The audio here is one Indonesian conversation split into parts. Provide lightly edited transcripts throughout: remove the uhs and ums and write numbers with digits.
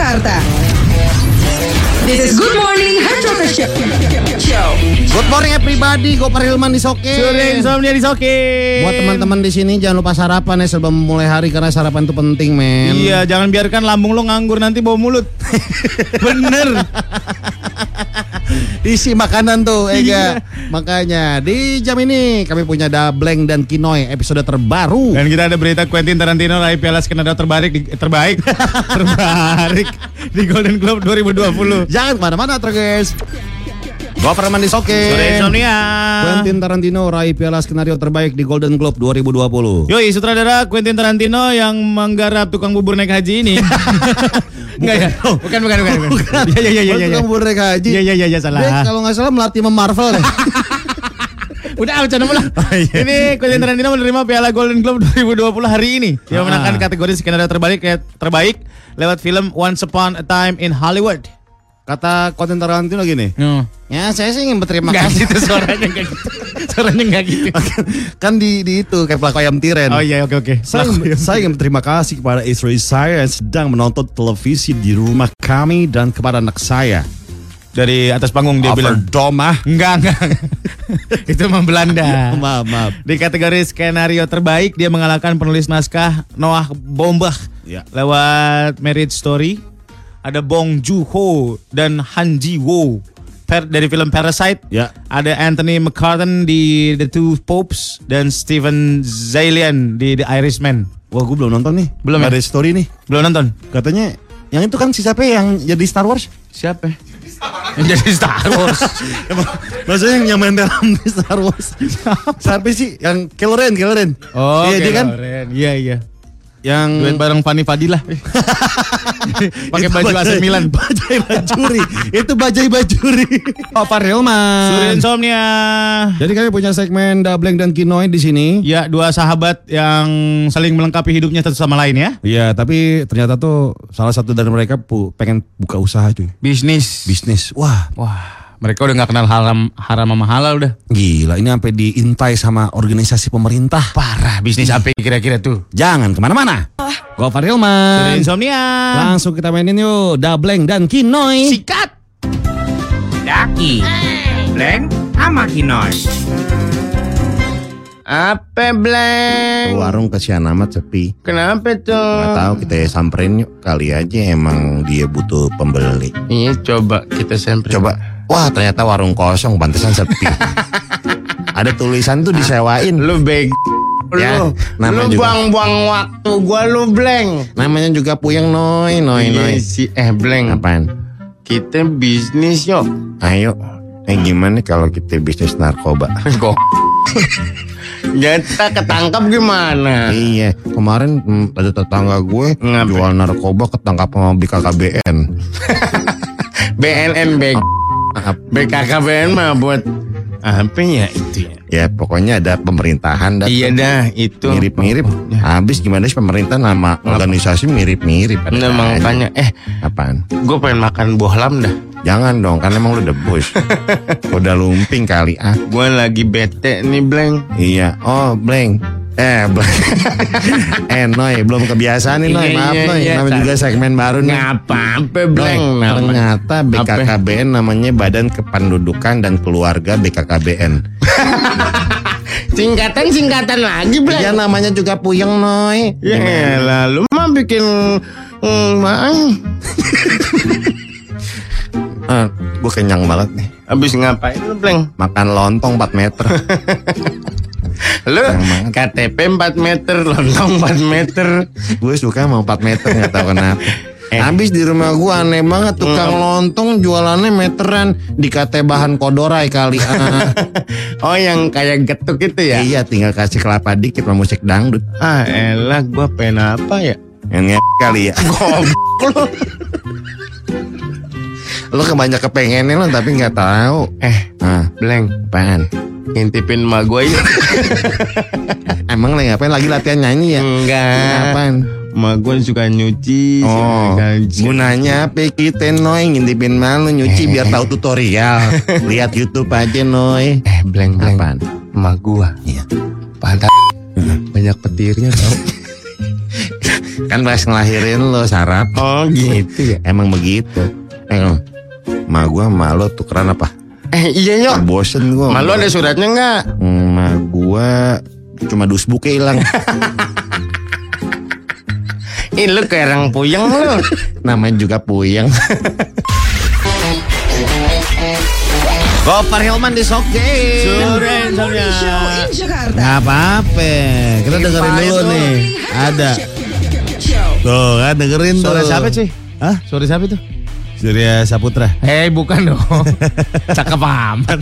Jakarta. This is Good Morning Hard Rocker Show. Good morning everybody, Gopar Hilman di Soke. Sore insomnia di Soke. Buat teman-teman di sini jangan lupa sarapan ya sebelum memulai hari karena sarapan itu penting, men. Iya, jangan biarkan lambung lo nganggur nanti bau mulut. Bener. Isi makanan tuh, Ega. Makanya di jam ini kami punya Dableng dan Kinoy episode terbaru. Dan kita ada berita Quentin Tarantino raih piala skenario terbaik di Golden Globe 2020. Jangan kemana-mana, guys. Gopar Hilman di Soke. Sore insomnia. Quentin Tarantino raih piala skenario terbaik di Golden Globe 2020. Yoi, sutradara Quentin Tarantino yang menggarap tukang bubur naik haji ini. Enggak ya? Bukan. Iya. Tukang bubur naik haji. Iya, salah. Dia kalau nggak salah melatih sama Marvel deh. Udah bercanda pula. Ini Quentin Tarantino menerima piala Golden Globe 2020 hari ini. Dia memenangkan kategori skenario terbaik lewat film Once Upon a Time in Hollywood. Kata Quentin Tarantino gini. Ya saya sih ingin berterima kasih. Itu suaranya enggak gitu. Kan di itu kayak pelaku ayam tiren. Oh iya, oke. Saya ingin berterima kasih kepada istri saya yang sedang menonton televisi di rumah kami dan kepada anak saya. Dari atas panggung dia bilang Overdome. Enggak. Itu mah Belanda. Maaf. Di kategori skenario terbaik dia mengalahkan penulis naskah Noah Baumbach lewat Marriage Story. Ada Bong Joon-ho dan Han Ji-woo dari film Parasite. Ya. Ada Anthony McCartan di The Two Popes dan Steven Zaillian di The Irishman. Wah, gue belum nonton nih. Belum ya? Ada story nih. Belum nonton? Katanya yang itu kan si siapa yang jadi Star Wars? Siapa? Yang jadi Star Wars. Maksudnya yang main dalam di Star Wars. Siapa sih? Yang Kylo Ren. Oh, iya, dia kan? Iya. Yang duet bareng Fanny Fadilah. Pakai baju AC Milan. Itu Bajai Bajuri. Gopar Hilman. Sore insomnia. Jadi kami punya segmen Dableng dan Kinoy di sini. Ya, dua sahabat yang saling melengkapi hidupnya satu sama lain ya. Iya, tapi ternyata tuh salah satu dari mereka pengen buka usaha cuy. Bisnis. Wah. Mereka udah gak kenal haram sama halal udah. Gila, ini sampai diintai sama organisasi pemerintah. Parah, bisnis apa kira-kira tuh? Jangan kemana-mana. Gopar Hilman. Sore insomnia. Langsung kita mainin yuk Dableng dan Kinoy. Sikat. Daki, Bleng, sama Kinoy. Apa Bleng? Warung kesian amat sepi. Kenapa tuh? Gak tahu, kita samperin yuk. Kali aja emang dia butuh pembeli. Iya, coba kita samperin. Coba. Wah, ternyata warung kosong, pantesan sepi. Ada tulisan tuh disewain. Lu beg. Ya, Lu buang-buang waktu gua lu Bleng. Namanya juga puyeng Noy. Bleng. Apaan? Kita bisnis yuk. Ayo. Gimana kalau kita bisnis narkoba? Kok kita ketangkap gimana? Iya, kemarin ada tetangga gue jual narkoba ketangkap sama BKKBN. BNN BKKBN mah buat apa ya itu ya? Ya pokoknya ada pemerintahan. Iya dah itu. Mirip-mirip. Habis gimana sih pemerintah nama organisasi mirip-mirip. Nah, makanya apaan? Gue pengen makan bohlam dah. Jangan dong, kan emang lu debus. Udah lumping kali Gue lagi bete nih Bleng. Iya. Oh Bleng. Noy, belum kebiasaan nih Noy. Maaf Noy. Namanya juga segmen baru nih. Ngapa Bleng? Ternyata BKKBN namanya Badan Kependudukan dan Keluarga BKKBN. Singkatan lagi Bleng. Iya, namanya juga puyeng Noy. Ya lalu mah bikin gue kenyang banget nih. Abis ngapain lu Bleng? Makan lontong 4 meter. Lu KTP 4 meter, lontong 4 meter. Gue suka mau 4 meter, gak tahu kenapa. Habis di rumah gue aneh banget, tukang lontong jualannya meteran. Dikata bahan kodorai kali. Oh, yang kayak getuk itu ya? Iya, tinggal kasih kelapa dikit sama musik dangdut. Elah, gue pengen apa ya? Yang kali ya. Goblok. Lo kebanyak kepengennya lo tapi gak tahu. Bleng, apaan? ngintipin emak gue ya. Emang ngapain lagi latihan nyanyi ya? Enggak. Apaan? Emak gue suka nyuci. Oh, gunanya apa kita Noy ngintipin malu nyuci biar tahu tutorial. Lihat YouTube aja Noy. Bleng. Apaan? Emak gue. Iya. Pantat banyak petirnya tau. Kan pas ngelahirin lo sarap. Oh gitu ya. Emang begitu. Ma gua sama lo tukeran apa? Iya Nyok. Bosen gua. Malu ada suratnya nggak? Ma gua cuma dusbuknya hilang. Ini lu kayak orang puyeng lu. Namanya juga puyeng. Gopar Hilman disokin. Suren Morning Show in Jakarta. Nggak apa-apa. Kita dengerin dulu nih. Ada. Tuh kan dengerin tuh. Suara siapa sih? Hah? Suara siapa tuh? Surya Saputra. Bukan dong. Cakep amat.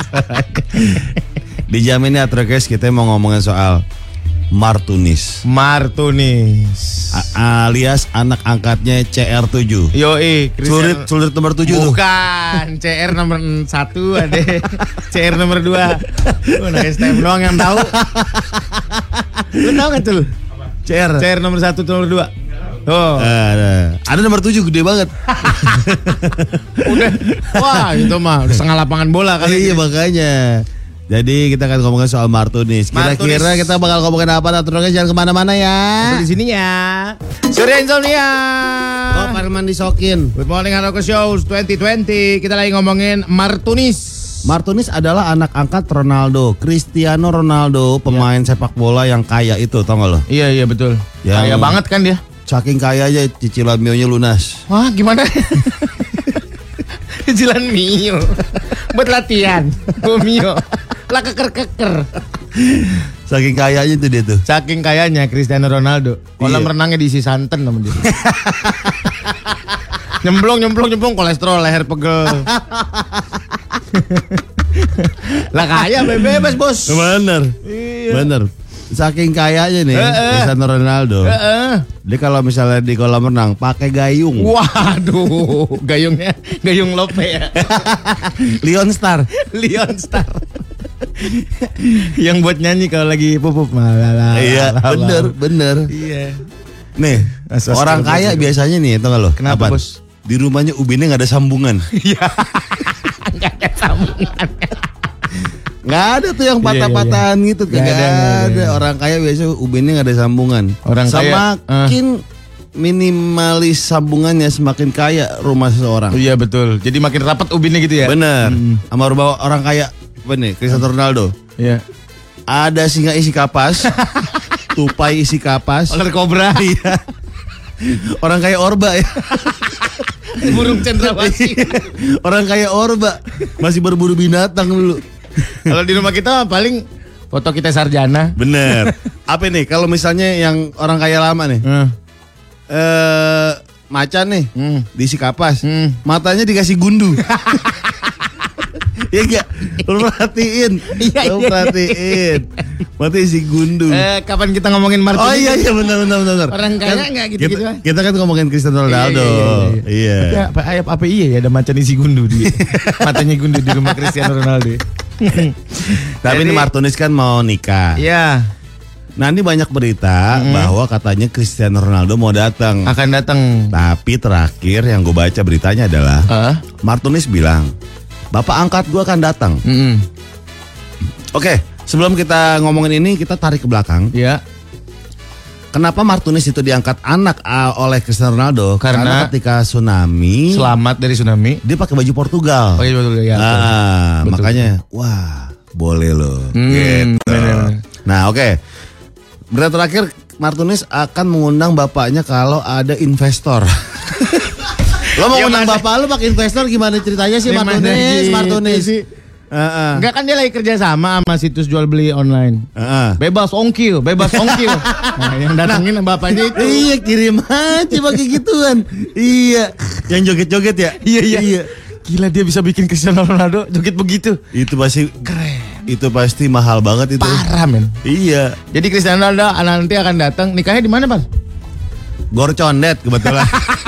Dijamin ya Trokes, kita mau ngomongin soal Martunis Martunis. alias anak angkatnya CR7. Yoi, Sulit nomor 7 tuh. bukan, CR nomor 1 ada. CR nomor 2. Lu anak STM doang yang tahu. Lu tahu enggak tuh? CR nomor 1 nomor 2. Oh. Ada nomor 7 gede banget. Udah. Wah, itu mah udah setengah lapangan bola kali. Iya makanya. Jadi kita akan ngomongin soal Martunis. Kira-kira kita bakal ngomongin apa? Trokes jangan kemana-mana ya. Di sini ya. Surya Insomnia. Gopar Hilman disokin. Good morning Haroko Show 2020. Kita lagi ngomongin Martunis. Martunis adalah anak angkat Ronaldo, Cristiano Ronaldo, pemain sepak bola yang kaya itu, tau gak lo? Iya betul. Yang- Kaya banget kan dia. Saking kaya aja cicilan Mio-nya lunas. Wah gimana? Cicilan Mio. Buat latihan. Mio. Lah keker. Saking kayanya itu dia tuh. Saking kayanya Cristiano Ronaldo. Kolam Iya. renangnya diisi santan sama dia. nyemplung kolesterol leher pegel. Lah kaya bebas bos. Bener. Bener. Saking kayanya nih Cristiano Ronaldo. Dia kalau misalnya di kolam renang pakai gayung. Waduh, gayung lope ya. Leon Star. Leon Star. Yang buat nyanyi kalau lagi pupup. Iya, bener. Iya. Nih, Asas orang terbaik kaya itu. biasanya nih, tau gak lo? Kenapa, Apaan? Bos? Di rumahnya ubinnya nggak ada sambungan. Enggak ada sambungan. Nggak ada tuh yang patah-patahan gitu. Nggak Nggak ada. ada. Orang kaya biasa ubinnya nggak ada sambungan. Orang kaya, semakin minimalis sambungannya semakin kaya rumah seseorang. Iya betul. Jadi makin rapat ubinnya gitu ya. Bener. Sama rumah orang kaya, apa nih? Cristiano Ronaldo. Iya. Ada singa isi kapas, tupai isi kapas. Ular kobra. Iya. Orang kaya orba ya. Burung cendrawasih. Orang kaya orba masih berburu binatang dulu. Kalau di rumah kita paling foto kita sarjana. Bener. Apa nih kalau misalnya yang orang kaya lama nih? Macan nih diisi kapas, matanya dikasih gundu. Iya gak? Lu perhatiin. Iya. Lu perhatiin. Mata isi gundu. Kapan kita ngomongin Martin? Oh iya benar. Orang kaya nggak gitu-gitu, ah. Kita kan ngomongin Cristiano Ronaldo. Iya. Apa iya ya ada macan isi gundu di matanya gundu di rumah Cristiano Ronaldo. Tapi ini Martunis kan mau nikah. Iya, Nah ini banyak berita bahwa katanya Cristiano Ronaldo mau datang. akan datang. Tapi terakhir yang gue baca beritanya adalah Martunis bilang, Bapak angkat gue akan datang. Oke, sebelum kita ngomongin ini kita tarik ke belakang. Iya. Kenapa Martunis itu diangkat anak oleh Cristiano Ronaldo? Karena ketika tsunami, Selamat dari tsunami. dia pakai baju Portugal. Oh iya betul ya. Betul. Makanya, wah boleh loh. Gitu. bener. Nah oke, berita terakhir Martunis akan mengundang bapaknya kalau ada investor. Lo mau undang bapak lo pakai investor gimana ceritanya sih Martunis? Enggak kan dia lagi kerja sama situs jual beli online. Bebas ongkir. Nah, yang datangin bapaknya itu. Iya kirim aja pakai gituan. Iya, yang joget-joget ya. Iya. Gila dia bisa bikin Cristiano Ronaldo joget begitu. Itu pasti Keren. Itu pasti mahal banget itu. Parah men. Iya. Jadi Cristiano Ronaldo nanti akan datang. Nikahnya di mana, Pak? Gor Condet kebetulan.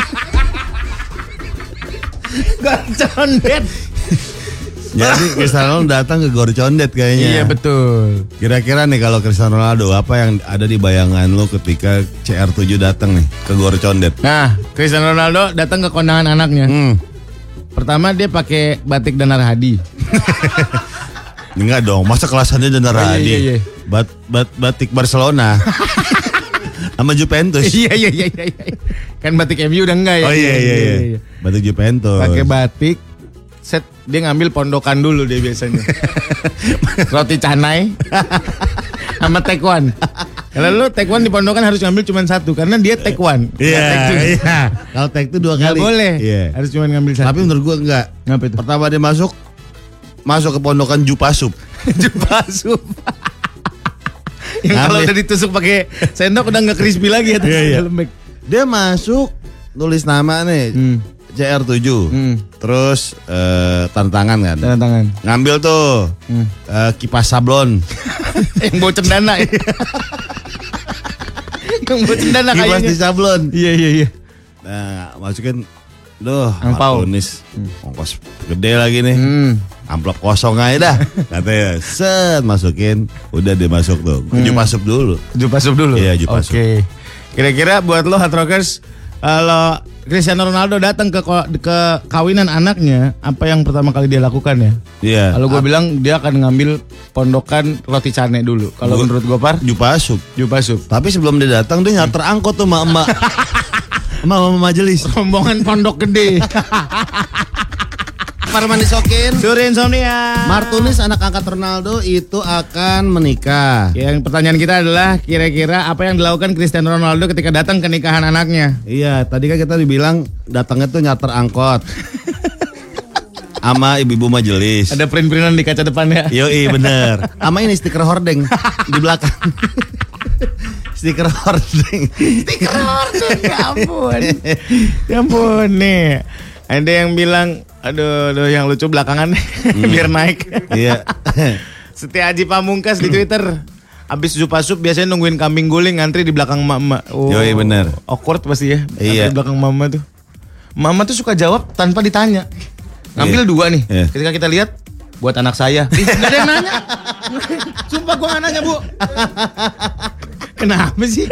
Condet. Jadi Cristiano Ronaldo datang ke Gor Condet kayaknya. Iya betul. Kira-kira nih kalau Cristiano Ronaldo apa yang ada di bayangan lo ketika CR7 datang nih ke Gor Condet? Nah, Cristiano Ronaldo datang ke kondangan anaknya. Pertama dia pakai batik Danar Hadi. Enggak dong, masa kelasannya Danar Hadi? Iya. Batik Barcelona. Sama Juventus. Iya. Kan batik MU udah enggak ya? Oh iya. Batik Juventus. Pakai batik. Set dia ngambil pondokan dulu dia biasanya. Roti canai sama taekwondo. Kalau lu taekwondo di pondokan harus ngambil cuma satu karena dia taekwondo. Iya. Kalau tek itu 2 Nggak kali. boleh. Iya. Harus cuma ngambil satu. Tapi menurut gua enggak. Ngapa itu? Pertama dia masuk ke pondokan Jupasup. Jupasup. Yang kalau Ngambil. udah ditusuk pakai sendok udah nggak crispy lagi atas Iya. lembek. Dia masuk tulis nama nih. CR7. Terus tanda tangan kan. Tanda tangan. Ngambil tuh kipas sablon. Yang bawa cendana ya. Yang bawa cendana Kipas kayaknya. di sablon. Iya. Nah, masukin Angpau. Martunis. Ongkos gede lagi nih. Amplop kosong aja dah. Katanya, set masukin. Udah dia masuk tuh. Jupasup dulu. Jupasup dulu. Iya, Jupasup. Oke. Kira-kira buat lo Hard Rockers, kalau Cristiano Ronaldo datang ke kawinan anaknya, apa yang pertama kali dia lakukan ya? Iya. Kalau gue bilang dia akan ngambil pondokan roti cane dulu. Kalau menurut gue Jupasup. Jupasup. Tapi sebelum dia datang dia nyarter angkot tuh sama emak. Sama majelis. Rombongan pondok gede. Parman disokin. Suri Insomnia. Martunis anak angkat Ronaldo itu akan menikah. Yang pertanyaan kita adalah kira-kira apa yang dilakukan Cristiano Ronaldo ketika datang ke nikahan anaknya? Iya, tadi kan kita dibilang datangnya tuh nyarter angkot. Sama ibu-ibu majelis. Ada print-printan di kaca depannya. Yoi bener. Sama ini stiker hordeng di belakang. Stiker hordeng. Ya ampun. Ya ampun nih. Ada yang bilang, aduh yang lucu belakangan biar naik. Iya. Setia Aji Pamungkas di Twitter. Abis Jupasup biasanya nungguin kambing guling ngantri di belakang mama. Oh, Yoi, bener. Awkward pasti ya. Iya. Ngantri di belakang mama tuh. Mama tuh suka jawab tanpa ditanya. Ngambil 2 nih. Iya. Ketika kita lihat buat anak saya. Gak ada yang nanya. Sumpah gua gak nanya, Bu. Kenapa sih?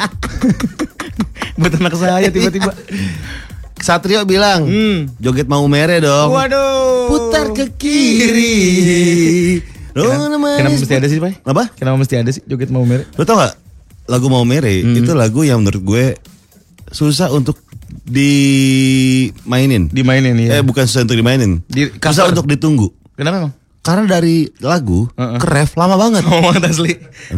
Buat anak saya tiba-tiba. Satrio bilang, joget mau mere dong. Waduh. Putar ke kiri. Kenapa mesti ada sih, Pak? Apa? Kenapa mesti ada sih joget mau mere? Lo tau gak? Lagu Mau Mere itu lagu yang menurut gue susah untuk dimainin. Dimainin ya. Bukan susah untuk dimainin. Susah cover. untuk ditunggu. Kenapa emang? Karena dari lagu ke ref lama banget. Ngomong asli.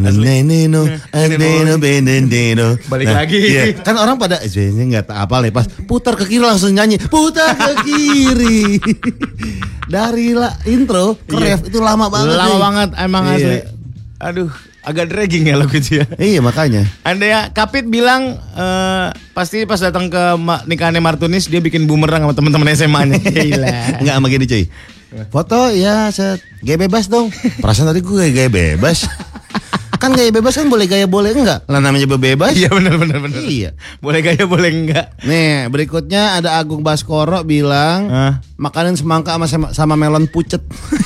Balik lagi. Iya. Kan orang pada nggak tak apa nih pas putar ke kiri langsung nyanyi putar ke kiri. Dari intro ke ref itu lama banget. Lama nih. banget emang Iya. asli. Aduh, agak dragging ya lagu itu ya. Iya makanya. Anda ya, Kapit bilang pasti pas datang ke nikahannya Martunis dia bikin bumerang sama teman-teman SMA-nya. Gila. Enggak sama gini cuy. Foto ya gaya bebas dong. Perasaan tadi gue gaya bebas. Kan gaya bebas kan boleh gaya boleh enggak? Lah namanya bebas. Iya benar. Iya. Boleh gaya boleh enggak. Nih berikutnya ada Agung Baskoro bilang makanan semangka sama melon pucet.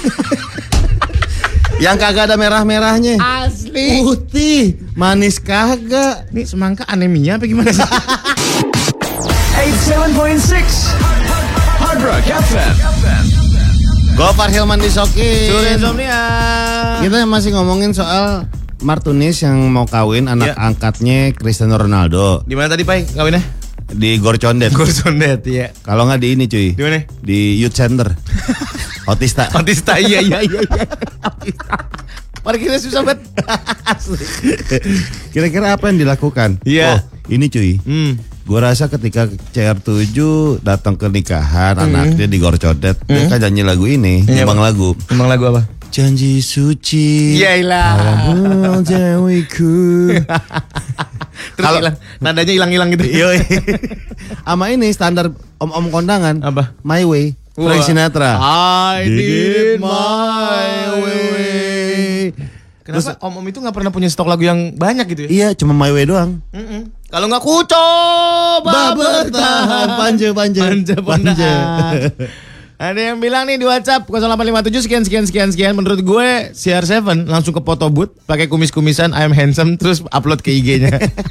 Yang kagak ada merah-merahnya. Asli. Putih, manis kagak. Ini semangka anemia apa gimana sih? 87.6 Hard Rock FM. Gofar Hilman Disokin. Suri Insomnia. Kita masih ngomongin soal Martunis yang mau kawin anak angkatnya Cristiano Ronaldo Di mana tadi, Pai? Kawinnya? di Gor Condet. Gorsondet, ya. Kalau nggak di ini cuy. Di mana? Di Youth Center. Otista. Otista, iya. Parkirnya susah banget. Kira-kira apa yang dilakukan? Iya. Oh, ini cuy. Gue rasa ketika CR7 datang ke nikahan anaknya di Gor Condet, dia kan nyanyi lagu ini, nyumbang lagu. Emang lagu apa? Janji suci. Yailah. Dewiku. Terus hilang. Nadanya hilang-hilang gitu. Yoi. Sama ini standar om-om kondangan. Apa? My Way. Wah. Frank Sinatra. I Did did my my way. Kenapa om-om itu gak pernah punya stok lagu yang banyak gitu ya? Iya, cuma My Way doang. Kalau nggak ku coba Bertahan. Panja. Panja. Ada yang bilang nih di WhatsApp 0857 sekian. Menurut gue CR7 langsung ke photo booth pakai kumis-kumisan I am handsome terus upload ke IG-nya.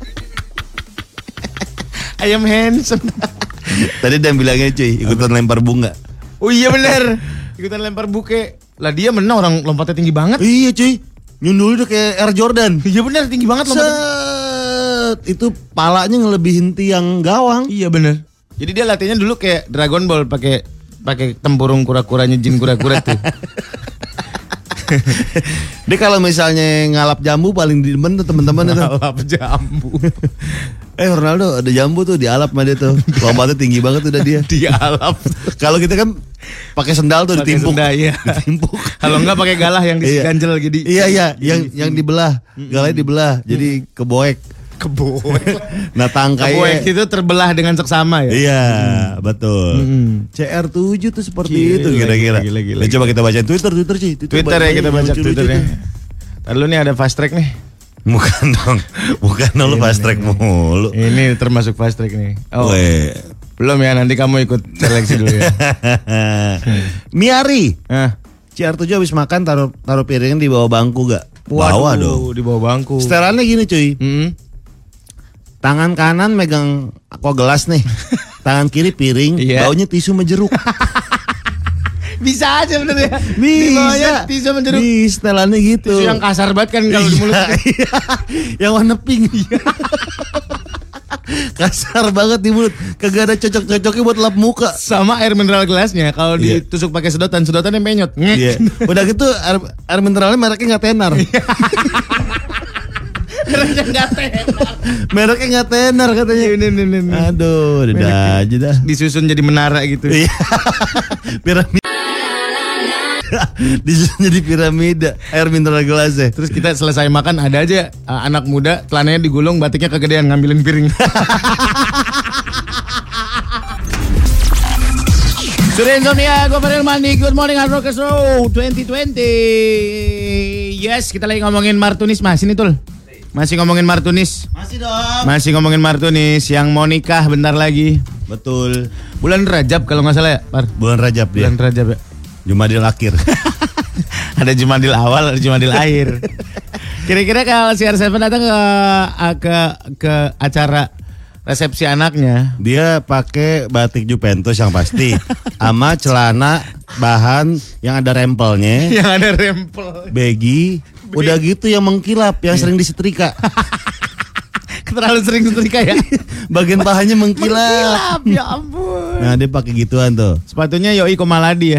I am handsome. Tadi dia bilangnya cuy, ikutan lempar bunga. Oh iya bener. Ikutan lempar buke. Lah dia menang orang lompatnya tinggi banget. Iya cuy. Nyundul udah kayak Air Jordan. Iya bener tinggi banget lompatnya. itu palanya ngelebihin tiang gawang. Iya bener. Jadi dia latihannya dulu kayak Dragon Ball pakai tempurung kura-kuranya jin kura-kura tuh. Dia kalau misalnya ngalap jambu paling demen tuh teman-teman itu. Ngalap jambu. Ronaldo ada jambu tuh dialap sama dia tuh. Lompatnya tinggi banget udah dia. Dialap. Kalau kita kan pakai sendal tuh Pakai ditimpuk. sendal, iya. Ditimpuk. Kalau enggak pakai galah yang diganjel gitu. Iya, yang dibelah. Galanya dibelah. Jadi keboek. Keboek. Nah tangkainya. Keboek itu terbelah dengan seksama ya. Iya, betul. CR7 tuh seperti itu Gila, kira-kira. gila. Nah, coba kita baca Twitter Ci. Twitter ya kita baca Twitternya. Lalu nih ada fast track nih. Bukan dong lu fast track mulu. Ini termasuk fast track nih. Oh. Weh. Belum ya, nanti kamu ikut seleksi dulu ya. Miari. CR7 habis makan taruh piringnya di bawah bangku gak? Bawah dong. Di bawah bangku. Setelannya gini cuy. Tangan kanan megang aqua gelas nih. Tangan kiri piring, baunya tisu menjeruk. Bisa aja bener ya. Bisa. Tisu menjeruk. Bisa, setelannya gitu. Tisu yang kasar banget kan kalau di mulut. Iya. Yang warna pink. Kasar banget di mulut. Kagak ada cocok-cocoknya buat lap muka. Sama air mineral gelasnya kalau ditusuk pakai sedotannya menyot. Iya. Udah gitu air mineralnya mereknya nggak tenar. Mereknya nggak tenar katanya. Ini. Aduh, udah aja dah. Disusun jadi menara gitu. Iya. Piramida. Disusun jadi piramida air mineral gelasnya. Terus kita selesai makan ada aja anak muda celananya digulung, batiknya kegedean ngambilin piring. Sudah insomnia, gue Farel Mandi. Good morning Hard Rockers Show 2020. Yes, kita lagi ngomongin Martunis masih nih Tul. Masih ngomongin Martunis. Masih dong. Masih ngomongin Martunis yang mau nikah bentar lagi. Betul. Bulan Rajab kalau nggak salah ya, Par. Bulan Rajab dia. Bulan Rajab ya. Jumadil akhir. Ada Jumadil awal, ada Jumadil akhir. Kira-kira kalau CR7 datang ke acara resepsi anaknya, dia pakai batik Juventus yang pasti, sama celana bahan yang ada rempelnya, yang ada rempel, baggy, udah gitu yang mengkilap, yang sering disetrika. Terlalu sering setrika ya. Bagian pahannya mengkilap. Ya ampun. Nah dia pakai gituan tuh. Sepatunya Yoi Komaladi ya.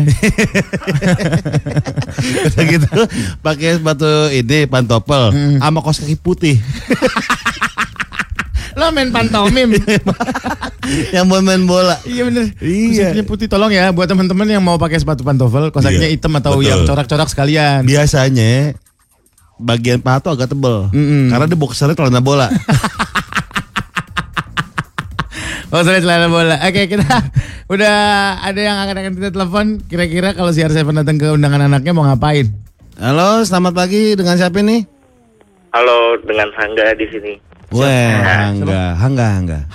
Udah gitu pakai sepatu ini pantopel sama kaos kaki putih. Lo main pantomim. Yang mau main bola. Iya bener. Iya. Kaosnya putih, tolong ya buat teman-teman yang mau pakai sepatu pantofel, kaosnya hitam atau betul. yang corak-corak sekalian. Biasanya bagian paha tuh agak tebel. Karena dia boxernya celana bola. Oh, celana bola. Oke, kita udah ada yang akan kita telepon. Kira-kira kalau CR7 datang ke undangan anaknya mau ngapain? Halo, selamat pagi. Dengan siapa nih? Halo, dengan Sangga di sini. Weh, Hangga.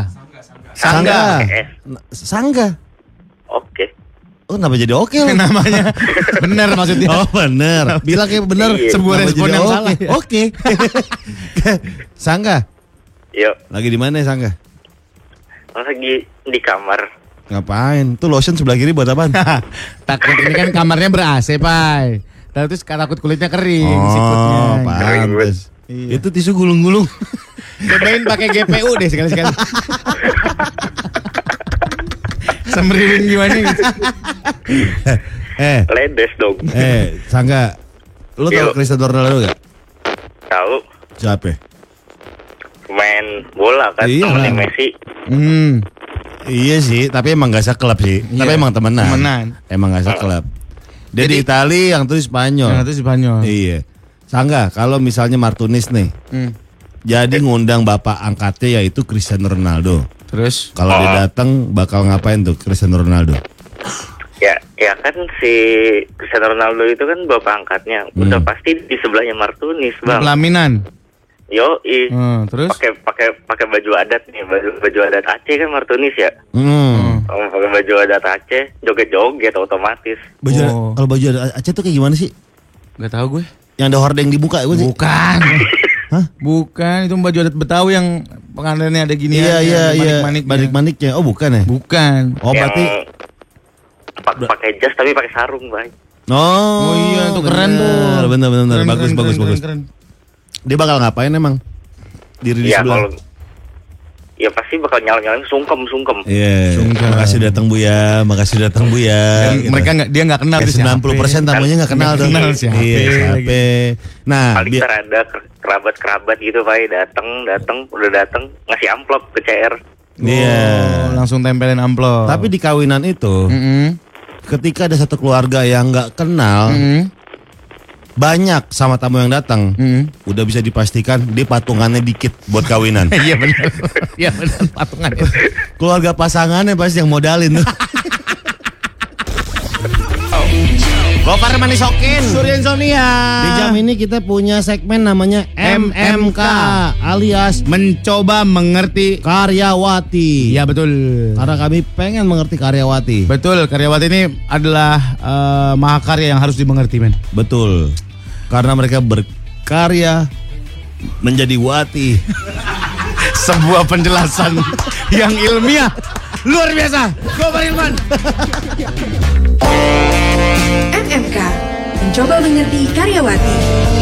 Sangga. Oke. Oh, kenapa jadi oke lo? Namanya bener maksudnya. Oh, bener. Bilang kayak bener. Iya. Sebuah Kenapa respon jadi yang oke? salah. Oke. Sangga, Yuk, lagi di mana Sangga? lagi di kamar. Ngapain? Tuh lotion sebelah kiri buat apaan? Takut ini kan kamarnya ber-AC, Pai. Terus takut kulitnya kering, sikutnya. Oh, pantes. Iya. Itu tisu gulung-gulung. Cobain pakai GPU deh sekali-sekali. Semriwing gimana gitu. Ledes dong. Sangga, lu tahu Yuk. Cristiano Ronaldo gak? Tahu Siapa? main bola kan Iya. temennya Messi. Iya sih, tapi emang gak seklub sih. Iya. Tapi emang temenan. Emang gak seklub. Dia Jadi- di Itali, yang tuh di Spanyol. Yang itu Spanyol. Iya. Sangga, kalau misalnya Martunis nih, jadi ngundang bapak angkatnya yaitu Cristiano Ronaldo. Terus Kalau dia datang bakal ngapain tuh Cristiano Ronaldo? Ya kan si Cristiano Ronaldo itu kan bapak angkatnya. Udah pasti di sebelahnya Martunis, Bang. pelaminan. Yoi. Terus Pakai baju adat nih, baju adat Aceh kan Martunis ya. Pakai baju adat Aceh, joget-joget otomatis. Kalau baju Aceh tuh kayak gimana sih? Gak tahu gue. Yang ada hordeng di muka itu sih? Bukan. Hah? Bukan, itu baju adat Betawi yang pengantinnya ada gini Iya. manik-maniknya. Manik-maniknya. Oh, bukan ya? Bukan. Oh, berarti Pakai jas tapi pakai sarung, Bang. Oh iya, itu keren tuh. Bener. Keren, Bagus. keren. Dia bakal ngapain emang? diri di Ya sebelah. kalau ya pasti bakal nyala-nyalain sungkem. Iya. Makasih datang Bu ya, makasih datang Bu ya. Dan mereka dia nggak kenal Kayak tuh 90% tamunya nggak kenal tuh. kenal siapa. Iya, siapa. Nah, Paling ntar ada kerabat gitu Pak, datang ngasih amplop ke CR. iya. Oh, langsung tempelin amplop. Tapi di kawinan itu, ketika ada satu keluarga yang nggak kenal, banyak sama tamu yang datang, udah bisa dipastikan dia patungannya dikit buat kawinan. Iya benar. Iya benar patungan. Keluarga pasangannya pasti yang modalin tuh. Gopar manisokin. Surya Insomnia. Di jam ini kita punya segmen namanya MMK alias Mencoba mengerti. Karyawati. Iya betul. Karena kami pengen mengerti Karyawati. Betul, karyawati ini adalah mahakarya yang harus dimengerti, men. Betul. Karena mereka berkarya menjadi wati. Sebuah penjelasan yang ilmiah luar biasa. Gopar Ilman. MMK. Mencoba mengerti karyawati.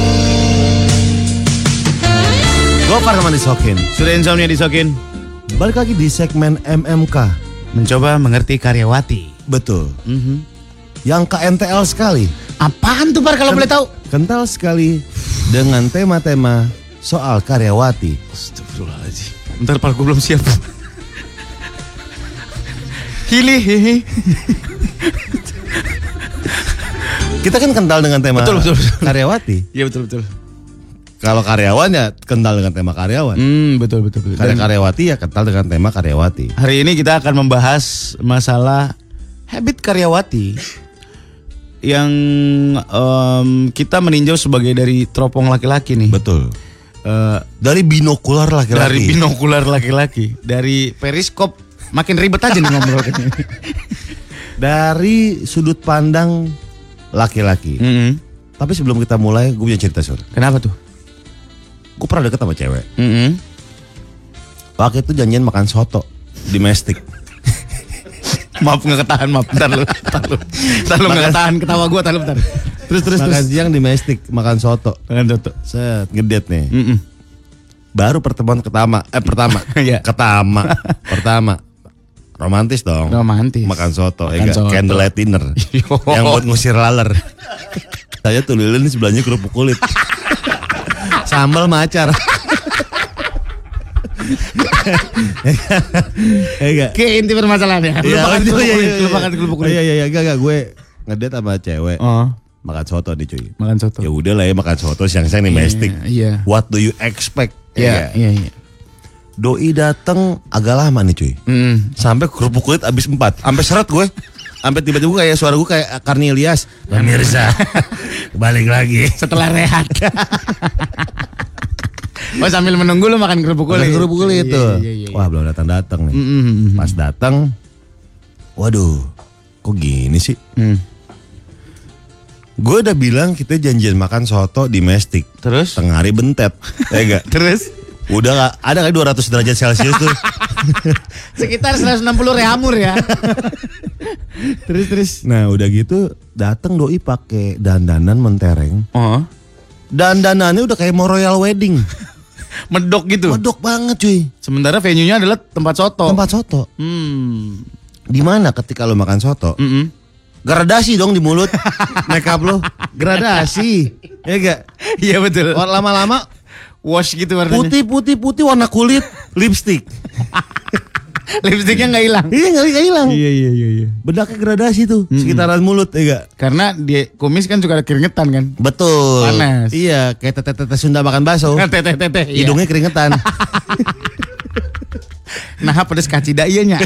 Gopar sama disokin. Surya Insomnia disokin. Balik lagi di segmen MMK. Mencoba mengerti karyawati. Betul. Yang KNTL sekali. Apaan tuh Par kalau boleh tahu? Kental sekali dengan tema-tema soal karyawati. Astagfirullahaladzim. Bentar Par, gue belum siap. Hihi. Kita kan kental dengan tema Betul. karyawati. Iya betul. Kalau karyawan ya kental dengan tema karyawan. Betul. Dan Karyawati ya kental dengan tema karyawati. hari ini kita akan membahas masalah habit karyawati yang kita meninjau sebagai dari teropong laki-laki nih. Betul. Dari binokular laki-laki. Dari binokular laki-laki, dari periskop makin ribet aja nih ngobrol ini. Dari sudut pandang laki-laki. Tapi sebelum kita mulai, gue punya cerita Sur. Kenapa tuh? Gue pernah deket sama cewek. Waktu itu janjian makan soto di Mestik. Maaf nggak ketahan, maaf. Bentar lu nggak ketahan ketawa gue, bentar. Terus. Makan siang di Mestik, makan soto. Makan soto. Set, ngedet nih. Baru pertemuan pertama. Iya. Pertama. Romantis dong. Romantis. Makan soto. Makan soto. Candlelight dinner. Yang buat ngusir laler. Saya tuh lilin sebelahnya kerupuk kulit. Sambal macar. Enggak. Ke inti permasalahannya. Lupakan kerupuk kulit. Iya, enggak gue ngedet sama cewek. Oh, Makan soto nih cuy. makan soto. Ya udah lah ya makan soto siang-siang di Mestik. Iya. What do you expect? Iya. Doi dateng agak lama nih cuy. Sampai kerupuk kulit abis 4. Sampai seret gue. Sampai tiba-tiba kayak suara gue kayak Karni Ilyas. Pemirsa, balik lagi. Setelah rehat. Oh, sambil menunggu lu makan kerupuk kulit. Makan kerupuk kulit itu. Iya. Wah belum datang-datang nih. Pas datang, waduh, kok gini sih? Gue udah bilang kita janjian makan soto di Mestik. Terus? Tengah hari bentet. Ya enggak? Terus? Udah gak, ada kali 200 derajat Celcius tuh. Sekitar 160 reamur ya. Terus. Nah udah gitu datang doi pakai dandanan mentereng. Oh. Dandanannya udah kayak mau royal wedding. Medok gitu. Medok banget cuy. Sementara venue-nya adalah tempat soto. Tempat soto. Di mana ketika lo makan soto? Gradasi dong di mulut. Makeup lo gradasi. Ya enggak? Iya betul. Lama-lama Wash gitu warnanya. putih warna kulit, lipstick. Lipstiknya nggak hilang. Iya nggak hilang. Iya. Bedaknya gradasi tuh sekitaran mulut ya enggak? Karena di kumis kan suka ada keringetan kan. Betul. Panas. Iya, kayak tete-tete Sunda makan bakso. Tete. Iya. Hidungnya keringetan. Nah, pedes kacida iyanya.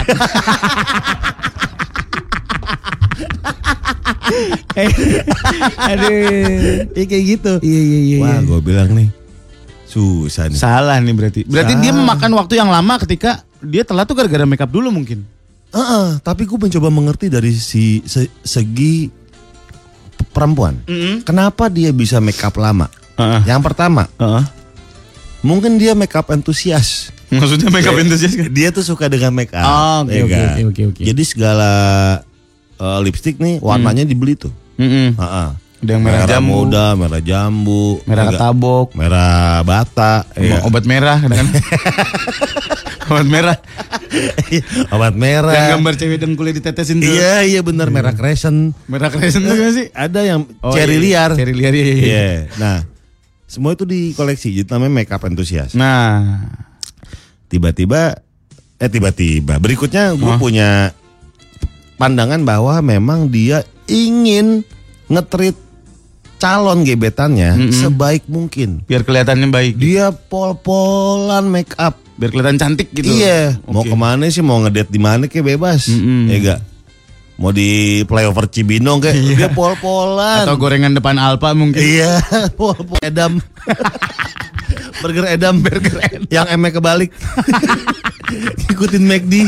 Aduh. Iya kayak gitu. Iya. Wah, gue bilang nih susah nih. Salah nih berarti. Berarti dia memakan waktu yang lama ketika dia telat tuh gara-gara makeup dulu mungkin. Tapi gue mencoba mengerti dari segi perempuan. Kenapa dia bisa makeup lama? Yang pertama, mungkin dia makeup entusias. Maksudnya makeup entusias kan? Dia tuh suka dengan makeup. Oh, ya kan? oke. Jadi segala lipstick nih warnanya dibeli tuh. Ada yang merah jambu, muda, merah jambu, merah ketabok, merah bata, obat merah kan. Obat merah. Obat merah. Yang gambar cewek dengkulnya ditetesin tuh. Iya benar, merah crescent. Merah crescent tuh gak sih? Ada yang cherry liar. Cherry liar iya. Iya. Nah, semua itu dikoleksi, jadi namanya makeup enthusiast. Nah, tiba-tiba berikutnya gue punya pandangan bahwa memang dia ingin nge-treat calon gebetannya sebaik mungkin. Biar kelihatannya baik. Dia pol-polan make up. Biar kelihatan cantik gitu. Iya. Okay. Mau kemana sih, mau ngedate di mana kayak bebas. Ya enggak. Mau di flyover Cibinong kayak dia pol-polan. Atau gorengan depan Alfa mungkin. Iya, pol-pol edam. Burger edam. Yang M-nya kebalik. Ikutin McD.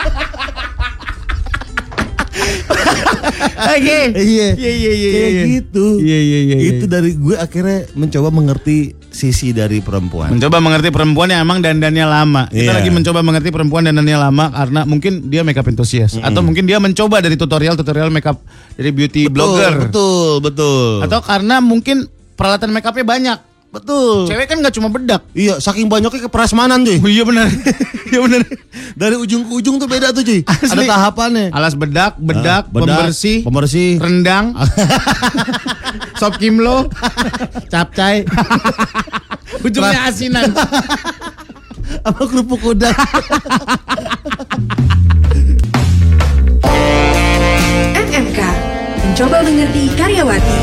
Oke. Iya. Kayak gitu. Iya. Itu dari gue akhirnya mencoba mengerti sisi dari perempuan. Mencoba mengerti perempuan yang emang dandannya lama. Kita lagi mencoba mengerti perempuan dandannya lama karena mungkin dia makeup enthusiast atau mungkin dia mencoba dari tutorial makeup dari beauty blogger. Betul. Atau karena mungkin peralatan makeupnya banyak. Betul. Cewek kan nggak cuma bedak. Iya, saking banyaknya ke prasmanan cuy. Oh, iya benar. Iya benar. Dari ujung ke ujung tuh beda tuh cuy. Asli. Ada tahapannya. Alas bedak, pembersih, rendang, sop kimlo, capcay. Ujungnya asinan. Apa kerupuk udang. MMK mencoba mengerti karyawati.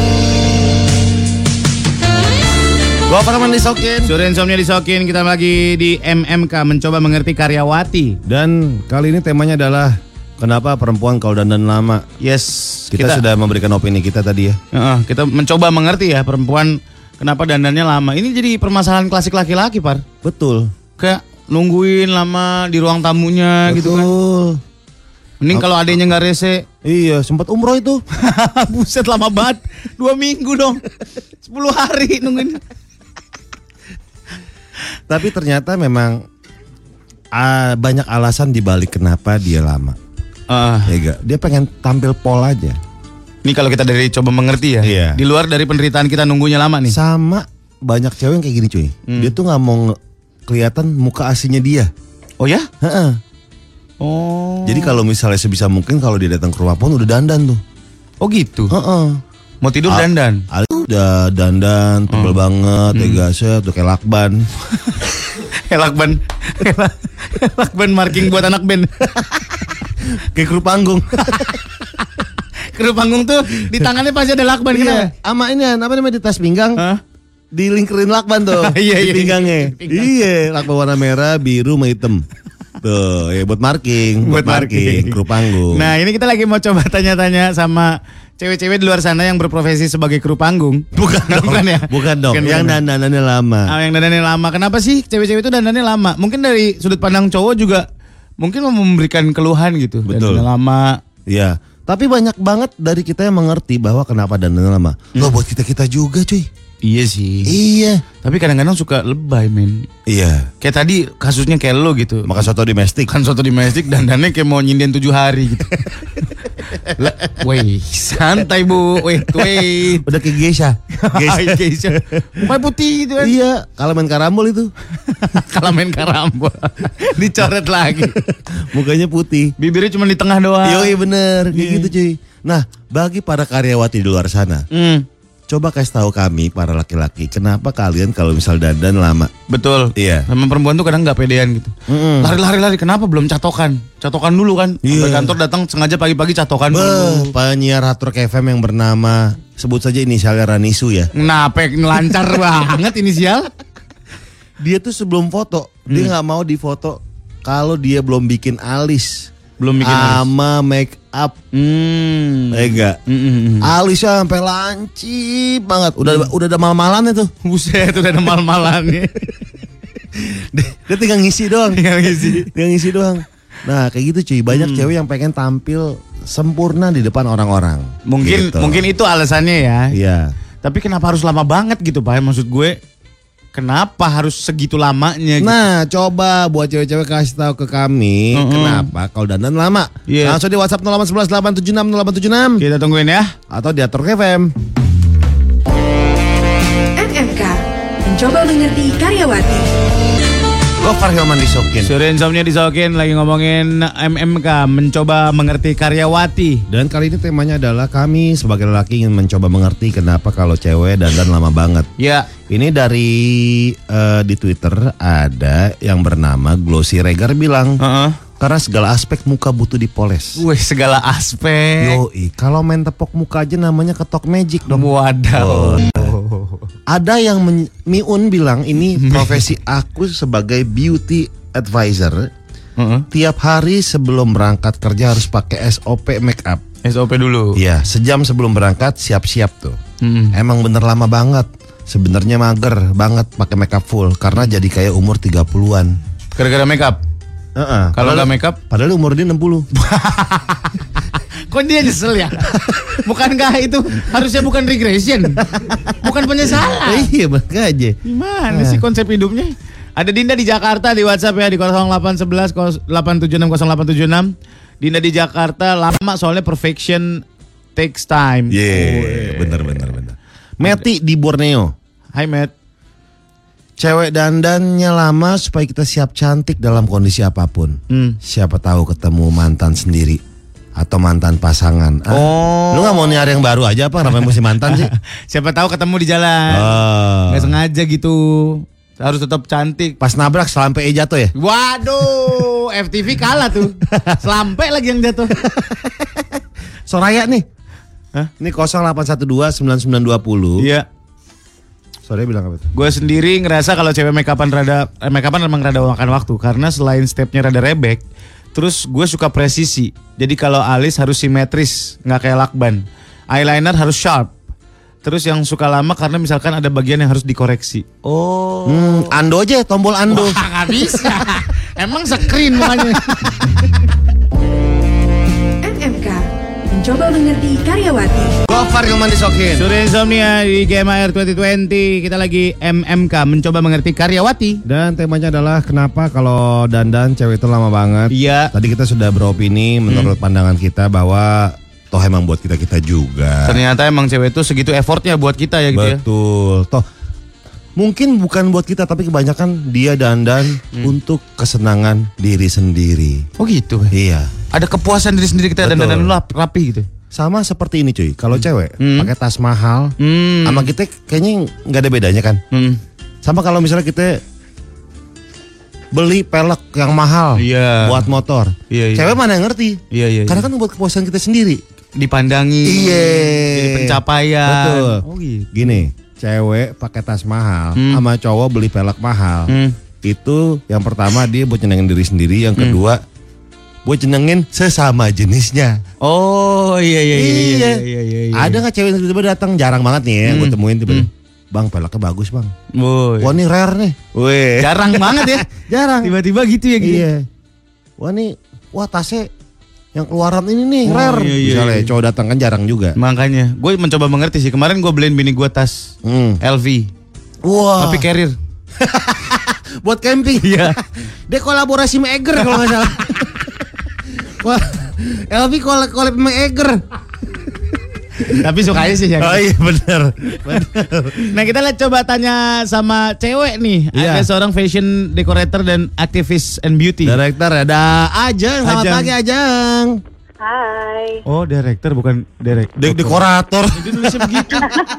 Gua Parman disokin. Sore insomnia disokin. Kita lagi di MMK mencoba mengerti karyawati. Dan kali ini temanya adalah kenapa perempuan kalau dandan lama. Yes. Kita sudah memberikan opini kita tadi ya. Kita mencoba mengerti ya perempuan kenapa dandannya lama. Ini jadi permasalahan klasik laki-laki, Par. Betul. Kayak nungguin lama di ruang tamunya. Betul. Gitu kan. Mending kalau adanya nggak rese. Iya, sempat umroh itu. Buset lama banget. 2 minggu dong. 10 hari nungguin. Tapi ternyata memang banyak alasan dibalik kenapa dia lama. Ya gak? Dia pengen tampil pol aja. Ini kalau kita dari coba mengerti ya. Iya. Di luar dari penderitaan kita nunggunya lama nih. Sama banyak cewek yang kayak gini cuy. Dia tuh nggak mau kelihatan muka aslinya dia. Oh ya? Heeh. Oh. Jadi kalau misalnya sebisa mungkin kalau dia datang ke rumah pun udah dandan tuh. Oh gitu. Heeh. Mau tidur dandan. Udah dandan, tebel banget, gasnya tuh kayak lakban. Lakban. Lakban marking buat anak band. Kayak kru panggung. Kru panggung tuh di tangannya pasti ada lakban. Iya. Sama ini apa namanya di tas pinggang. Dilingkerin lakban tuh. Iya, di pinggangnya. Iya, lakban warna merah, biru, sama hitam. Tuh, ya buat marking, kru panggung. Nah, ini kita lagi mau coba tanya-tanya sama cewek-cewek di luar sana yang berprofesi sebagai kru panggung. Bukan ya? Bukan dong. Yang dandanannya lama. Yang dandannya lama. Kenapa sih cewek-cewek itu dandannya lama? Mungkin dari sudut pandang cowok juga mungkin mau memberikan keluhan gitu. Betul. Dandannya lama. Iya. Tapi banyak banget dari kita yang mengerti bahwa kenapa dandannya lama. Loh buat kita juga cuy. Iya sih. Iya. Tapi kadang-kadang suka lebay men. Iya. Kayak tadi kasusnya kayak lo gitu. Makan soto domestik. Kan soto domestik dandannya kayak mau nyinden 7 hari gitu. Weh, santai bu. Wait. Udah kayak geisha. Geisha. Mukanya putih gitu kan. Iya. Kalau main karambol itu. Kalau main karambol. Dicoret lagi. Mukanya putih. Bibirnya cuma di tengah doang. Yoi bener. Kayak gitu cuy. Nah bagi para karyawati di luar sana. Coba kasih tahu kami para laki-laki kenapa kalian kalau misal dandan lama. Betul. Iya. Sama perempuan tuh kadang nggak pedean gitu. Lari. Kenapa belum catokan? Catokan dulu kan. Iya. Sampai kantor datang sengaja pagi-pagi catokan dulu. Penyiar Hard Rock FM yang bernama sebut saja inisialnya Ranisu ya. Kenapa lancar banget inisial? Dia tuh sebelum foto dia nggak mau difoto kalau dia belum bikin alis. Belum bikin sama make up. Enggak. Alisnya sampai lancip banget. Udah ada mal-malannya tuh. Buset, udah ada mal-malannya. Dia tinggal ngisi doang. Tinggal ngisi doang. Nah, kayak gitu cuy. Banyak cewek yang pengen tampil sempurna di depan orang-orang. Mungkin itu alasannya ya. Iya. Tapi kenapa harus lama banget gitu, Pak? Maksud gue kenapa harus segitu lamanya gitu? Nah, coba buat cewek-cewek kasih tahu ke kami kenapa kalau dandan lama. Yeah. Langsung di WhatsApp 0811 876 0876. Kita tungguin ya. Atau di Hard Rock FM. mencoba mengerti karyawati. Gofar Hilman Disokin. Surya Insomnia Disokin lagi ngomongin MMK, mencoba mengerti karyawati. Dan kali ini temanya adalah kami sebagai lelaki ingin mencoba mengerti kenapa kalau cewek dandan lama banget. Ya. Ini dari di Twitter ada yang bernama Glossy Regar bilang, karena segala aspek muka butuh dipoles. Wih, segala aspek. Yoi, kalau main tepok muka aja namanya ketok magic dong. Wadaw. Ada yang Miun bilang ini profesi aku sebagai beauty advisor. Tiap hari sebelum berangkat kerja harus pakai SOP make up. SOP dulu. Iya, sejam sebelum berangkat siap-siap tuh. Emang bener lama banget. Sebenarnya mager banget pakai make up full karena jadi kayak umur 30-an. Gara-gara make up. Kalau nggak make up, padahal umur dia 60. Kok dia nyesel ya? Bukankah itu harusnya bukan regression? Bukan penyesalan. Iya, makanya. Gimana sih konsep hidupnya? Ada Dinda di Jakarta di WhatsApp ya di 0811 876 0876. Dinda di Jakarta lama soalnya perfection takes time. Iya, bener. Meti di Borneo. Hai Matt. Cewek dandannya lama supaya kita siap cantik dalam kondisi apapun. Siapa tahu ketemu mantan sendiri atau mantan pasangan. Lu gak mau nyari yang baru aja apa? Kenapa mesti mantan sih? Siapa tahu ketemu di jalan. Gak sengaja gitu. Harus tetap cantik. Pas nabrak selampe jatuh ya? Waduh, FTV kalah tuh. Selampe lagi yang jatuh. Soraya nih. Ini 0812 9920. Iya. Soraya bilang apa tuh? Gue sendiri ngerasa kalau cewek make upan emang rada makan waktu. Karena selain stepnya rada rebek, terus gue suka presisi. Jadi kalau alis harus simetris, nggak kayak lakban. Eyeliner harus sharp. Terus yang suka lama karena misalkan ada bagian yang harus dikoreksi. Ando aja, tombol Ando. Wah, nggak bisa. Emang screen makanya. MMK mencoba mengerti karyawati. Gofar Hilman Disokin. Surya Insomnia di GMR 2020. Kita lagi MMK mencoba mengerti karyawati. Dan temanya adalah kenapa kalau dandan cewek itu lama banget. Iya. Tadi kita sudah beropini menurut pandangan kita bahwa toh emang buat kita juga. Ternyata emang cewek itu segitu effortnya buat kita ya gitu ya. Betul. Toh mungkin bukan buat kita tapi kebanyakan dia dandan untuk kesenangan diri sendiri. Oh gitu. Iya. Ada kepuasan diri sendiri kita Betul. dandan rapi gitu. Sama seperti ini cuy. Kalau cewek pakai tas mahal, sama kita kayaknya nggak ada bedanya kan. Sama kalau misalnya kita beli pelek yang mahal buat motor. Iya. Cewek mana yang ngerti? Iya. Karena kan buat kepuasan kita sendiri. Dipandangi. Iya. Jadi pencapaian. Betul. Oh gitu. Gini, cewek pakai tas mahal, sama cowok beli pelek mahal. Itu yang pertama dia buat nyenengin diri sendiri, yang kedua buat nyenengin sesama jenisnya. Oh iya. Ada nggak cewek yang tiba-tiba datang, jarang banget nih ya, gue temuin tiba-tiba. Bang, peleknya bagus bang. Wah ini rare nih. Wih. Jarang banget ya. Jarang. Tiba-tiba gitu ya gitu. Iya. Wah tasnya yang keluaran ini nih rare. Iya. Misalnya cowok datang kan jarang juga. Makanya gue mencoba mengerti sih. Kemarin gue beliin bini gue tas LV. Wah. Tapi carrier. Buat camping. Iya. Dia kolaborasi sama Eger kalau nggak salah. Wah, LV kolab sama Eger. Tapi sukanya sih ya. Oh iya benar. Nah kita lihat coba tanya sama cewek nih. Iya. Ada seorang fashion decorator dan aktivis and beauty. Director ada Ajeng. Selamat Ajeng. pagi Ajeng. Hai. Oh director bukan Dekorator. Jadi nulisnya begitu.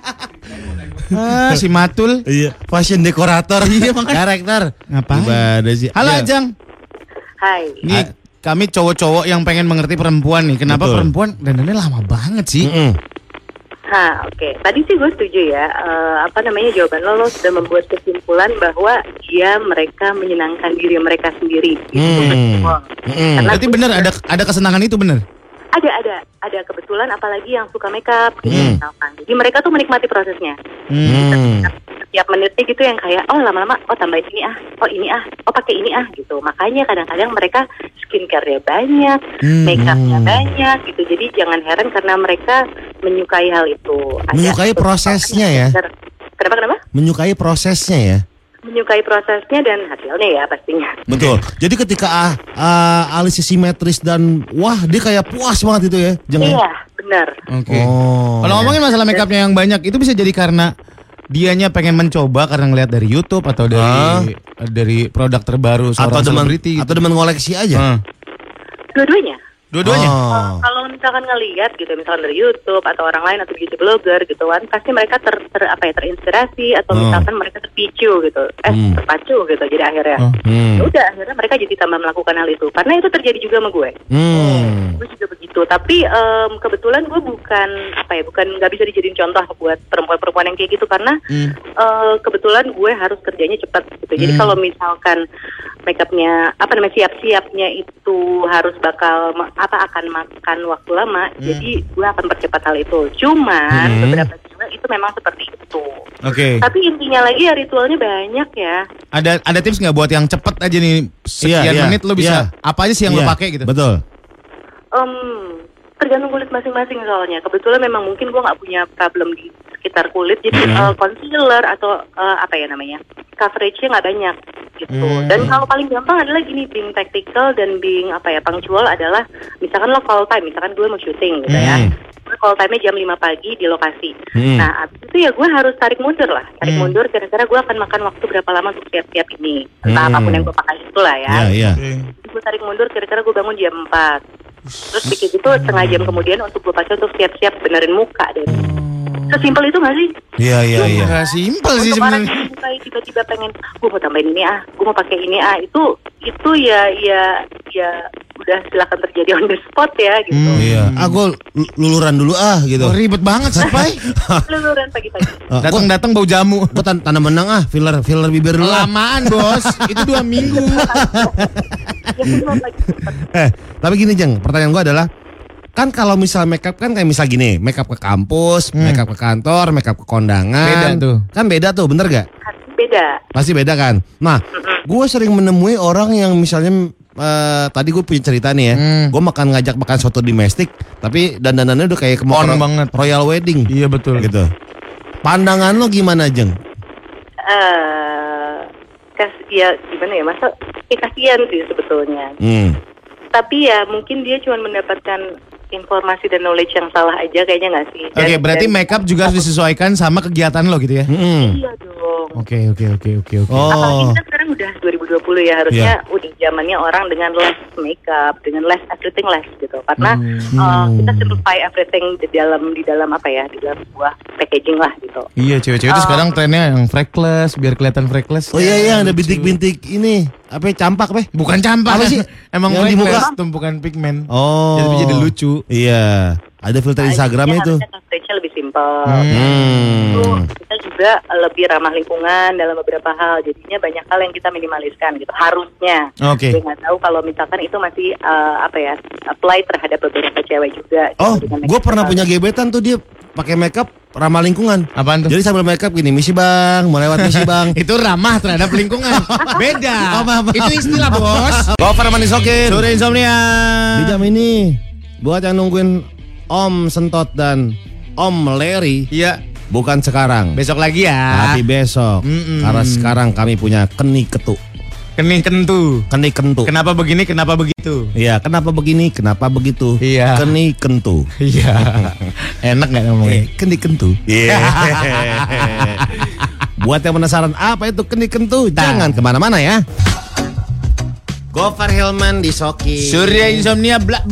Si Matul. Iya. Fashion dekorator. Iya makanya. Director. Ngapain? Gimana sih? Halo Iya. Ajeng. Hai. Nih kami cowok-cowok yang pengen mengerti perempuan nih. Kenapa Betul. perempuan dandannya lama banget sih? Oke. Tadi sih gue setuju ya. Jawaban lo sudah membuat kesimpulan bahwa mereka menyenangkan diri mereka sendiri. Gitu. Karena Berarti bener ada kesenangan itu bener? ada kebetulan apalagi yang suka makeup gitu misalkan. Jadi mereka tuh menikmati prosesnya. Setiap menitnya gitu yang kayak lama-lama tambahin ini pakai ini gitu. Makanya kadang-kadang mereka skincare-nya banyak, makeupnya banyak gitu. Jadi jangan heran karena mereka menyukai hal itu. Menyukai prosesnya ya. Kenapa? Menyukai prosesnya ya. Menyukai prosesnya dan hasilnya ya pastinya. Betul. Jadi ketika alisnya simetris dan wah dia kayak puas banget itu ya. Iya, benar. Oke. Kalau ngomongin masalah makeupnya yang banyak itu bisa jadi karena dianya pengen mencoba karena ngeliat dari YouTube atau dari produk terbaru seorang selebriti atau demen ngoleksi aja? Dua-duanya. Dua-duanya. Kalau misalkan ngelihat gitu, misalkan dari YouTube atau orang lain atau beauty blogger gitu kan, pasti mereka terinspirasi atau misalkan mereka terpicu gitu, terpacu gitu. Jadi akhirnya, udah akhirnya mereka jadi tambah melakukan hal itu. Karena itu terjadi juga sama gue. Gue juga begitu. Tapi kebetulan gue bukan nggak bisa dijadiin contoh buat perempuan-perempuan yang kayak gitu karena kebetulan gue harus kerjanya cepat gitu. Jadi kalau misalkan makeupnya siap-siapnya itu harus akan makan waktu lama, jadi gue akan percepat hal itu. Cuman beberapa cewek itu memang seperti itu. Oke. Tapi intinya lagi ya ritualnya banyak ya. Ada tips nggak buat yang cepet aja nih sekian menit lo bisa apa aja sih yang lo pakai gitu? Betul. Tergantung kulit masing-masing soalnya. Kebetulan memang mungkin gue nggak punya problem di sekitar kulit, jadi concealer atau coveragenya nggak banyak gitu. Dan kalau paling gampang adalah gini, being tactical dan being punctual adalah misalkan lo call time, misalkan gue mau syuting gitu ya. Gue call time-nya jam 5 pagi di lokasi. Nah, abis itu ya gue harus tarik mundur kira-kira gue akan makan waktu berapa lama untuk siap-siap ini. Entah apapun yang gue pakai itulah ya. Gue tarik mundur kira-kira gue bangun jam 4. Terus dikit itu setengah jam kemudian untuk gue pakai untuk siap-siap benerin muka deh. Sesimpel itu gak sih? Iya. Gak simpel sih sebenarnya. sebenarnya. Tiba-tiba pengen, gue mau tambahin ini gue mau pakai ini itu ya udah silakan terjadi on the spot ya gitu. Iya. Gue luluran dulu gitu. Ribet banget sih, Pai. Luluran pagi-pagi. Datang bau jamu. Gue tanam benang filler bibir dulu. Lamaan, Bos. Itu 2 minggu. Tapi gini Jeng, pertanyaan gue adalah kan kalau misal makeup kan kayak misal gini, makeup ke kampus, makeup ke kantor, makeup ke kondangan. Beda tuh. Kan beda tuh, bener gak? Beda. Pasti beda kan. Nah, gue sering menemui orang yang misalnya tadi gue punya cerita nih ya. Gue ngajak makan soto domestik, tapi dandanannya udah kayak banget. Royal wedding. Iya betul. Gitu. Pandangan lo gimana Jeng? Ya gimana ya, masa kasihan sih sebetulnya. Tapi ya mungkin dia cuma mendapatkan informasi dan knowledge yang salah aja kayaknya nggak sih? Oke, berarti makeup juga harus disesuaikan sama kegiatan lo gitu ya? Iya dong. Oke. Apalagi kita sekarang udah 2020 ya, harusnya udah zamannya orang dengan less makeup, dengan less everything less gitu. Karena kita simplify everything di dalam di dalam sebuah packaging lah gitu. Iya, cewek-cewek itu sekarang trennya yang freckles, biar kelihatan freckles. Oh iya, ada bintik-bintik ini. Campak, Bukan campak. Apa sih? Emang yang di muka tumpukan pigmen. Oh. Jadi lucu. Iya. Ada filter Instagram itu. Coveragenya lebih simpel. Kita juga lebih ramah lingkungan dalam beberapa hal. Jadinya banyak hal yang kita minimaliskan gitu. Harusnya. Oke. Gue nggak tahu kalau misalkan itu masih apply terhadap beberapa cewek juga. Oh, gue pernah punya gebetan tuh dia pakai makeup ramah lingkungan. Apaan tuh? Jadi sambil makeup gini, misi bang, mau lewat misi bang. Itu ramah terhadap lingkungan. Beda. Itu istilah bos. Gofar Manisokin. Sore Insomnia. Di jam ini buat yang nungguin Om Sentot dan Om Larry. Iya. Bukan sekarang. Besok lagi ya. Tapi besok. Karena sekarang kami punya Keni Ketu. Keni kentu. Kenapa begini, kenapa begitu? Iya, kenapa begini, kenapa begitu? Iya. Keni kentu. Iya. Enak gak ngomongnya? Keni kentu. Iya. Buat yang penasaran apa itu keni kentu, jangan kemana-mana ya. Gofar Hilman di Soki. Surya Insomnia blak.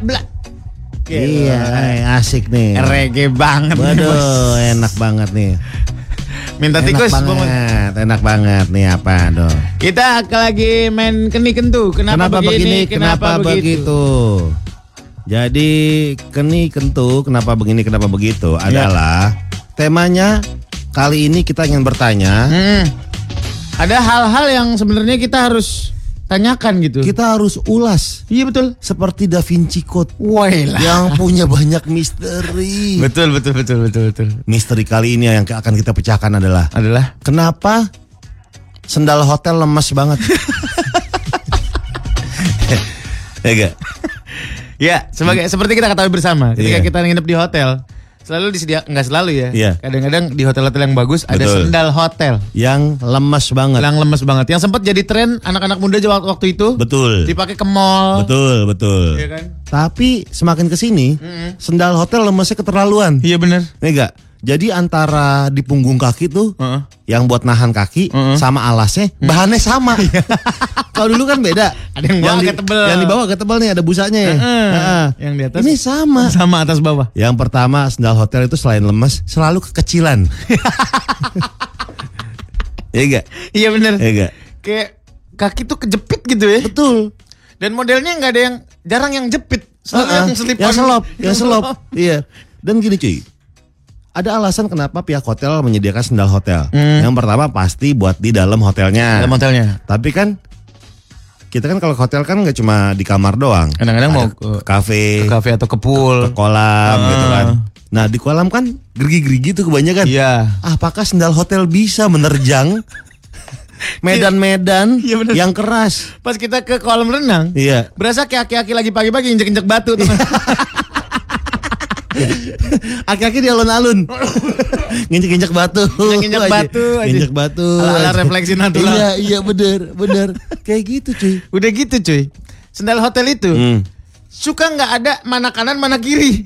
Iya, asik nih. Reggae banget. Waduh, enak banget nih. Minta tikus. Enak banget nih apa dong. Kita lagi main keni kentu. Kenapa begini, kenapa begitu? Jadi keni kentu, kenapa begini, kenapa begitu adalah temanya kali ini kita ingin bertanya. Ada hal-hal yang sebenarnya kita harus tanyakan gitu. Kita harus ulas. Iya betul. Seperti Da Vinci Code. Wailah. Yang punya banyak misteri. Betul. Misteri kali ini yang akan kita pecahkan adalah kenapa sendal hotel lemas banget? Ya gak? Ya, seperti kita ketahui bersama ketika kita nginep di hotel, selalu disediakan, nggak selalu ya. Iya. Kadang-kadang di hotel-hotel yang bagus ada sendal hotel yang lemas banget. Yang sempat jadi tren anak-anak muda waktu itu. Betul. Dipakai ke mall. Betul. Iya kan? Tapi semakin kesini sendal hotel lemasnya keterlaluan. Iya benar. Nih gak? Jadi antara di punggung kaki tuh yang buat nahan kaki sama alasnya bahannya sama. Kalau dulu kan beda. Ada yang bawah agak tebel. Yang di bawah agak tebel nih ada busanya ya. Yang di atas Ini sama. sama atas bawah. Yang pertama sendal hotel itu selain lemes selalu kekecilan. Iya enggak? Iya bener. Iya enggak? Kayak kaki tuh kejepit gitu ya. Betul. Dan modelnya nggak ada yang jarang yang jepit. Selalu yang slip yang on. selop, yang selop. Iya. Dan gini cuy. Ada alasan kenapa pihak hotel menyediakan sendal hotel. Yang pertama pasti buat di dalam hotelnya. Dalam hotelnya. Tapi kan kita kan kalau ke hotel kan nggak cuma di kamar doang. Kadang-kadang Ada mau ke kafe, ke kafe atau ke pool, ke kolam gitu kan. Nah di kolam kan gerigi-gerigi tuh kebanyakan. Iya. Apakah sendal hotel bisa menerjang medan-medan Iya, bener. yang keras? Pas kita ke kolam renang, Iya. berasa kayak aki-aki lagi pagi-pagi injek-injek batu tuh. Aki-aki di alun-alun. Nginjek-injek batu. Nginjek aja. batu aja. Nginjek batu. Ala-ala aja. refleksi natural. Iya bener. Kayak gitu cuy. Udah gitu cuy. Sendal hotel itu suka nggak ada mana kanan mana kiri.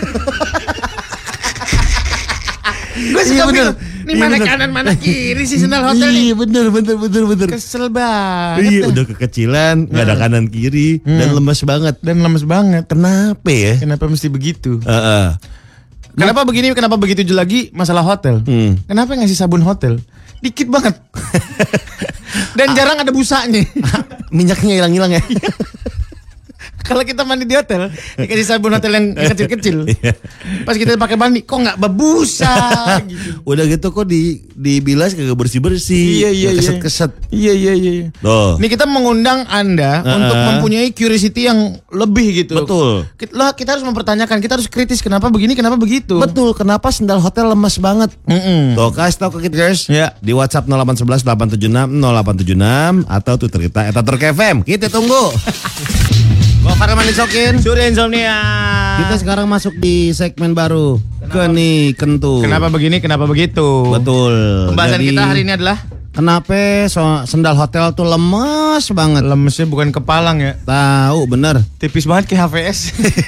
Gue suka bingung. Ini Iya, mana bener. kanan mana kiri sih sendal hotel nih. Iya bener. Kesel banget. Iya dah. udah kekecilan, nggak ada kanan kiri dan lemes banget. Dan lemes banget. Kenapa ya? Kenapa mesti begitu? Heeh. Kenapa begini? Kenapa begitu lagi masalah hotel? Kenapa ngasih sabun hotel? Dikit banget. Dan jarang ada busanya. Minyaknya hilang-hilang ya. Kalau kita mandi di hotel, dikasih sabun hotel yang kecil-kecil. Pas kita pakai mandi, kok nggak berbusa? Gitu. Udah gitu kok dibilas kagak bersih-bersih. Iya. Keset-keset. Iya. Tuh. Ini kita mengundang Anda untuk mempunyai curiosity yang lebih gitu. Betul. Kita harus mempertanyakan, kita harus kritis kenapa begini, kenapa begitu. Betul, kenapa sendal hotel lemes banget? Tuh, kasih tau ke kita guys. Ya. Di WhatsApp 0811 876 0876 atau Twitter kita @turkfm. Kita tunggu. Gofar Manisokin. Surya Insomnia. Kita sekarang masuk di segmen baru. Geni Kentu. Kenapa begini, kenapa begitu? Betul. Pembahasan Jadi, kita hari ini adalah kenapa sendal hotel tuh lemes banget? lemesnya bukan kepalang ya. Tahu bener. Tipis banget kayak HVS.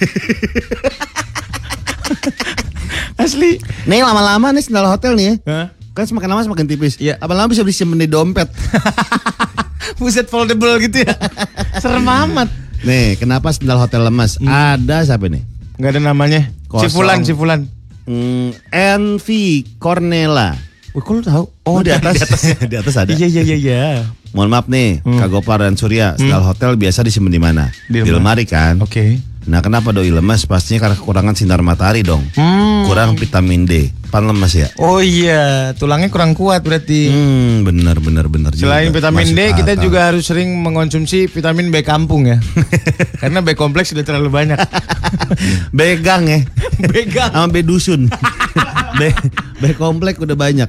Asli. Nih lama-lama nih sendal hotel nih ya. Hah? Kan semakin lama semakin tipis. Iya. Lama-lama bisa disimpan di dompet. Buset foldable gitu ya. Serem amat. Nih, kenapa sendal hotel lemes? Ada siapa nih? Nggak ada namanya. Kosong. Si Fulan. NV Cornela. Wih, kok lu tahu? Oh, di atas. Di atas ada. Iya. Mohon maaf nih, Kak Gopar dan Surya, sendal hotel biasa disimpan di mana? Di Di lemari kan? Oke. Nah, kenapa doi lemes? Pastinya karena kekurangan sinar matahari dong. Kurang vitamin D. Pan lemes ya? Oh iya, tulangnya kurang kuat berarti. Bener. Selain juga. vitamin Masuk D, kita akal. juga harus sering mengkonsumsi vitamin B kampung ya. Karena B kompleks sudah terlalu banyak. Begang ya. Begang. Sama B dusun. B komplek udah banyak.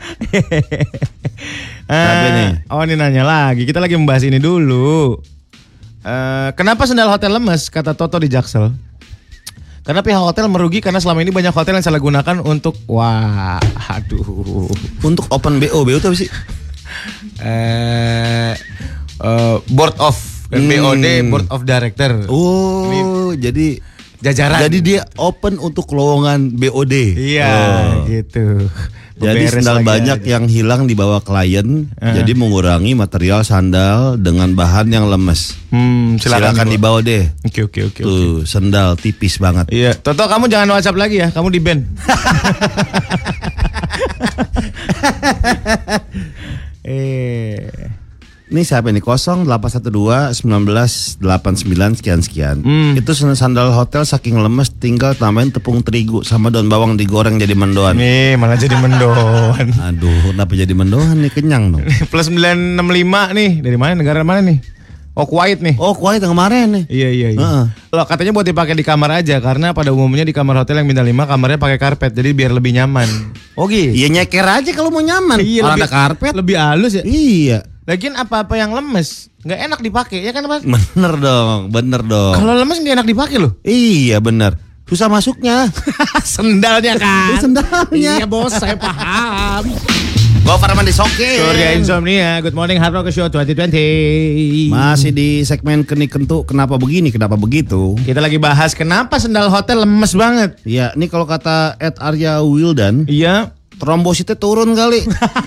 Tapi nih. Oh ini nanya lagi, kita lagi membahas ini dulu. Kenapa sendal hotel lemes? Kata Toto di Jaksel. Karena pihak hotel merugi karena selama ini banyak hotel yang salah gunakan untuk Untuk open BO itu apa sih? Board of BOD, Board of Director. Oh, jadi Jajaran. Jadi dia open untuk lowongan BOD. Iya, gitu. Jadi Beres sandal lagi banyak aja. yang hilang dibawa klien, jadi mengurangi material sandal dengan bahan yang lemes. Silakan dibawa deh. Oke. Tuh, sandal tipis banget. Iya, Toto kamu jangan WhatsApp lagi ya, kamu di ban. Ini siapa nih? 0812 1989 sekian. Itu sandal hotel saking lemes tinggal tambahin tepung terigu sama daun bawang digoreng jadi mendoan. Nih, malah jadi mendoan. Aduh, kenapa jadi mendoan nih? Kenyang dong. Plus 965 nih, dari mana? Negara mana nih? Oh, Kuwait nih. Oh, Kuwait yang kemarin nih. Iya. Loh, katanya buat dipakai di kamar aja karena pada umumnya di kamar hotel yang bintang 5 kamarnya pakai karpet jadi biar lebih nyaman. Oh gitu. Iya nyeker aja kalau mau nyaman. Iya, Orang lebih- ada karpet. Lebih halus ya. Iya. Lagian apa-apa yang lemes nggak enak dipakai ya kan Mas? Bener dong. Kalau lemes nggak enak dipakai loh. Iya bener. Susah masuknya. Sendalnya kan. Sendalnya. Iya bos, saya paham. Gofar Mandisoke. Surya Insomnia, Good Morning Hard Rock Show 2020. Masih di segmen Kenik-Kentuk, kenapa begini, kenapa begitu. Kita lagi bahas kenapa sendal hotel lemes banget. Iya, ini kalau kata Ed Arya Wildan, Iya. trombositnya turun kali.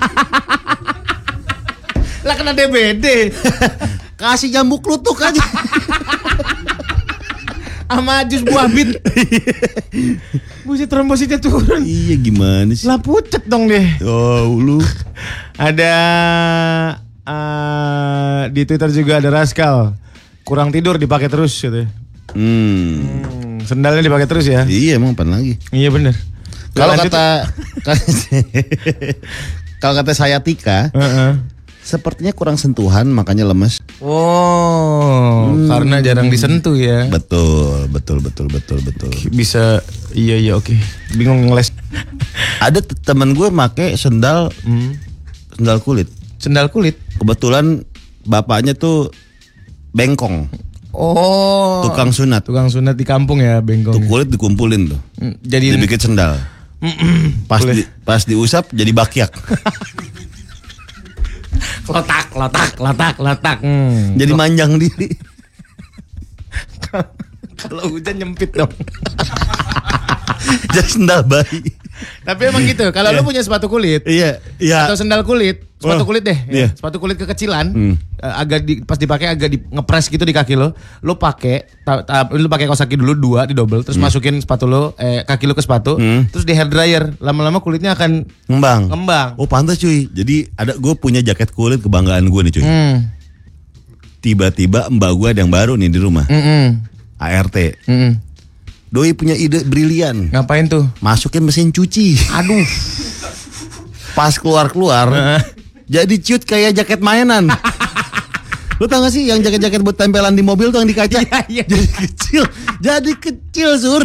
Lah kena DBD. Kasih jambu klutuk aja. Sama jus buah bit. Buset trombositnya turun. Iya gimana sih? Lah pucet dong deh. Oh lu. Ada di Twitter juga ada Raskal. Kurang tidur dipakai terus gitu. Sendalnya dipakai terus ya. Iya emang apa lagi? Iya bener. Kalau kata saya Tika, sepertinya kurang sentuhan makanya lemes. Oh, karena jarang disentuh ya. Betul. Bisa, iya oke. Bingung ngeles. Ada temen gue make sendal kulit. Sendal kulit. Kebetulan bapaknya tuh bengkong. Oh. Tukang sunat. Tukang sunat di kampung ya, bengkong. Tuh kulit dikumpulin tuh. Jadi dibikin sendal. Pas diusap jadi bakyak. Letak. Jadi manjang diri. Kalau hujan nyempit dong. Jadi sendal bayi. Tapi emang gitu. Kalau lu punya sepatu kulit, Iya. atau sendal kulit, sepatu kulit deh, Iya. sepatu kulit kekecilan, pas dipakai agak ngepres gitu di kaki lo, lu pakai kaos kaki dulu 2 didobel, terus masukin sepatu lo, kaki lo ke sepatu, terus di hair dryer, lama-lama kulitnya akan ngembang. Oh pantas cuy. Jadi gue punya jaket kulit kebanggaan gue nih cuy. Tiba-tiba mbak gue ada yang baru nih di rumah. ART. Doi punya ide brilian. Ngapain tuh? Masukin mesin cuci. Aduh. Pas keluar jadi ciut kayak jaket mainan. Lu tau gak sih yang jaket-jaket buat tempelan di mobil tuh yang di kaca? Iya. Jadi kecil Sur.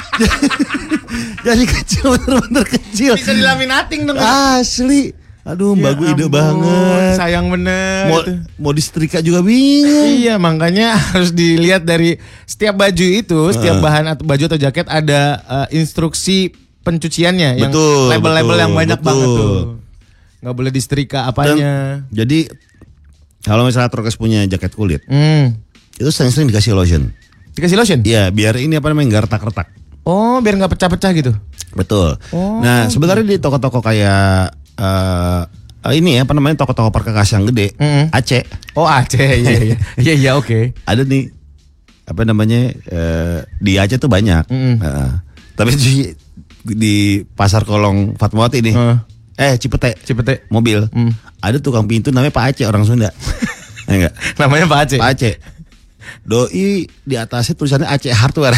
Jadi kecil, bener-bener kecil. Bisa dilaminating dong. Asli. Aduh, mbak gue ide ampun, banget. Sayang bener. Mau disetrika juga bingung. Iya, makanya harus dilihat dari setiap baju itu, setiap bahan atau baju atau jaket ada instruksi pencuciannya. Yang label-label yang banyak banget tuh. Nggak boleh disetrika apanya. Jadi kalau misalnya Trokes punya jaket kulit, itu sering-sering dikasih lotion. Dikasih lotion? Iya, biar ini apa namanya nggak retak-retak. Oh, biar nggak pecah-pecah gitu. Betul. Oh. Nah, sebenarnya di toko-toko kayak ini ya apa namanya toko-toko perkakas yang gede, Aceh. Oh Aceh, iya oke. Ada nih apa namanya di Aceh tuh banyak. Tapi di pasar Kolong Fatmawati nih, Cipete mobil, ada tukang pintu namanya Pak Aceh orang Sunda. Enggak. Namanya Pak Aceh. Pak Aceh. Doi di atasnya tulisannya Aceh Hardware.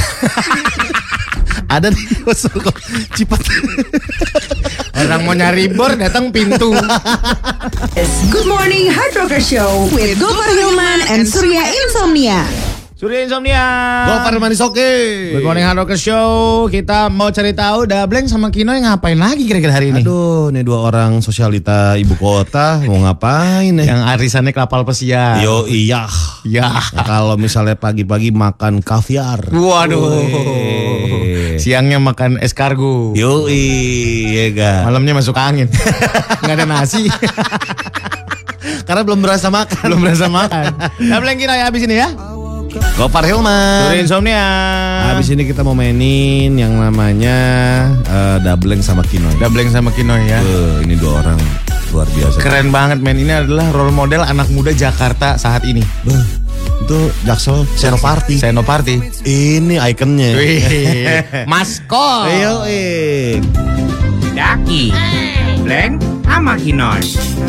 Ada di Cipete. Orang mau nyari bor datang pintu. Good Morning Hard Rocker Show with Gofar Hilman and Surya Insomnia. Surya Insomnia. Gofar Mandisoke. Good Morning Hard Rocker Show. Kita mau cari tahu Dableng sama Kinoy ngapain lagi kira-kira hari ini? Aduh, nih 2 orang sosialita ibu kota mau ngapain nih? Yang arisannya kapal pesiar. Yo iya. Ya. Nah, kalau misalnya pagi-pagi makan kaviar. Waduh. Siangnya makan escargot. Yo iya ga. Malamnya masuk angin. Nggak ada nasi. Karena belum berasa makan. Dableng Kinoy habis ini ya. Gofar Hilman. Surya Insomnia. Habis ini kita mau mainin yang namanya Dableng sama Kinoy. Dableng sama Kinoy ya. Ini 2 orang luar biasa. Keren banget men. Ini adalah role model anak muda Jakarta saat ini. Itu Jaksel Senoparty. Ini ikonnya. Maskot. Ayo, Daki, Bleng, sama Kinoy.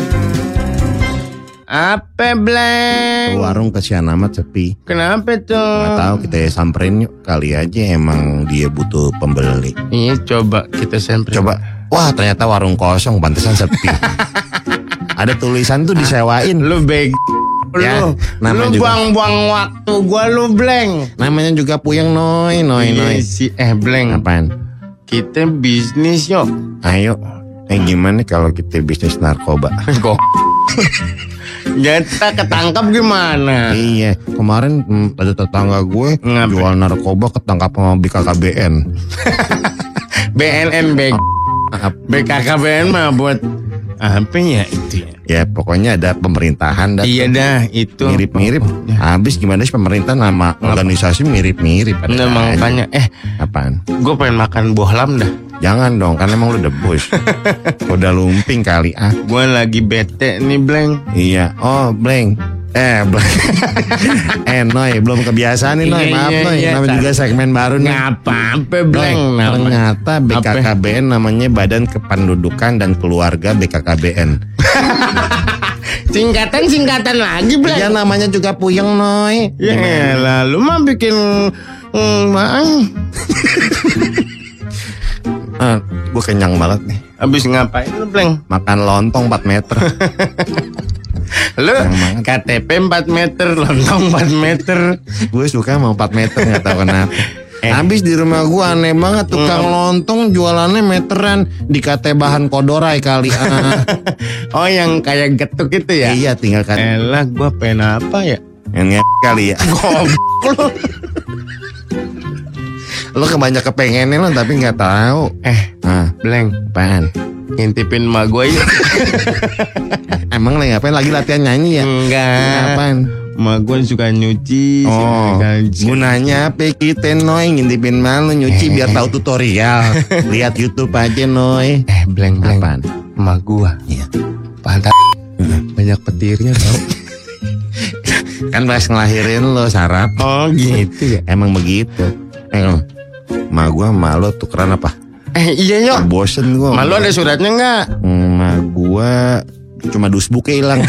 Apa Bleng? Warung kesian amat sepi. Kenapa tuh? Nggak tahu, kita samperin yuk. Kali aja emang dia butuh pembeli. Iya coba kita samperin. Coba. Wah ternyata warung kosong, pantesan sepi. Ada tulisan tuh disewain. Lu beg. Ya, Lu namanya juga buang-buang waktu gua lu Bleng. namanya juga Puyeng Noy. Bleng. Apaan? Kita bisnis yuk. Ayo. Gimana kalau kita bisnis narkoba? Kok? Kita ketangkap gimana? Iya, kemarin ada tetangga gue jual narkoba ketangkap sama BKKBN. BNN BKKBN mah buat Apa ya itu ya? Ya pokoknya ada pemerintahan. Iya dah itu. Mirip-mirip. Habis gimana sih pemerintah nama organisasi mirip-mirip. Nah makanya apaan? Gue pengen makan bohlam dah. Jangan dong, kan emang lu udah bos. Udah lumping kali ah. Gue lagi bete nih Bleng. Iya. Oh Bleng. Noy, belum kebiasaan nih Noy. Maaf Noy, namanya juga segmen baru nih. Apa-apa Bleng. Ternyata BKKBN namanya Badan Kependudukan dan Keluarga BKKBN. Singkatan lagi Bleng. Ya namanya juga puyeng Noy. Ya lalu mah bikin gue kenyang banget nih. Abis ngapain lu Bleng? Makan lontong 4 meter. Lu KTP 4 meter, lontong 4 meter. Gue suka mau 4 meter, gak tahu kenapa. Habis di rumah gue aneh banget, tukang lontong jualannya meteran. Dikata bahan kodorai kali. Oh yang kayak getuk itu ya? Iya tinggal kan. Elah gue pengen apa ya? Yang kali ya. Goblok. Lo kebanyak kepengennya lo tapi gak tahu. Bleng, apaan? ngintipin emak gue ya. Emang ngapain lagi latihan nyanyi ya? Enggak. Apaan? Emak gue suka nyuci. Gunanya apa kita Noy ngintipin malu nyuci biar tahu tutorial. Lihat YouTube aja Noy. Bleng. Apaan? Emak gue. Iya. Pantat banyak petirnya tau. Kan pas ngelahirin lo sarap. Oh gitu ya. Emang begitu. Emak gue malu tukeran apa? Iya yuk. Bosen gue. Malu ada suratnya nggak? Emak gue cuma dusbuknya hilang.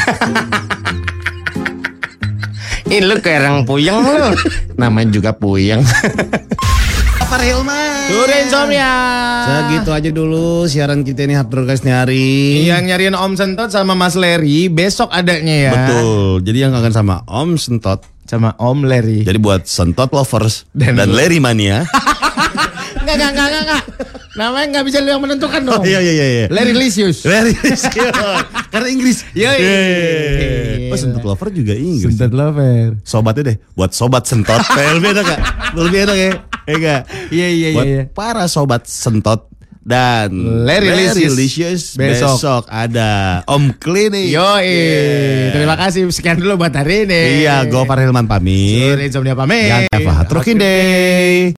Ih lu kayak orang puyeng lu. Namanya juga puyeng. Pak Hilman. Sore insomnia. Segitu aja dulu siaran kita ini Hard Rock nih hari. Yang nyariin Om Sentot sama Mas Larry besok adanya ya. Betul. Jadi yang kangen sama Om Sentot sama Om Larry. Jadi buat Sentot lovers dan Larry mania. Enggak. Namanya nggak bisa lu yang menentukan dong. Iya. Larry Lisius. Karena Inggris. Iya. Oh Sentot lover juga Inggris. Sentot lover. Sobatnya deh. Buat sobat Sentot. Lebih enak gak? Lebih enak ya? Enggak. Iya. Buat para sobat Sentot dan Larry Lisius besok ada Om Klinik. Yoi. Terima kasih sekian dulu buat hari ini. Iya, gue Pak Hilman pamit. Sore insomnia pamit. Yang Eva Trukin Day.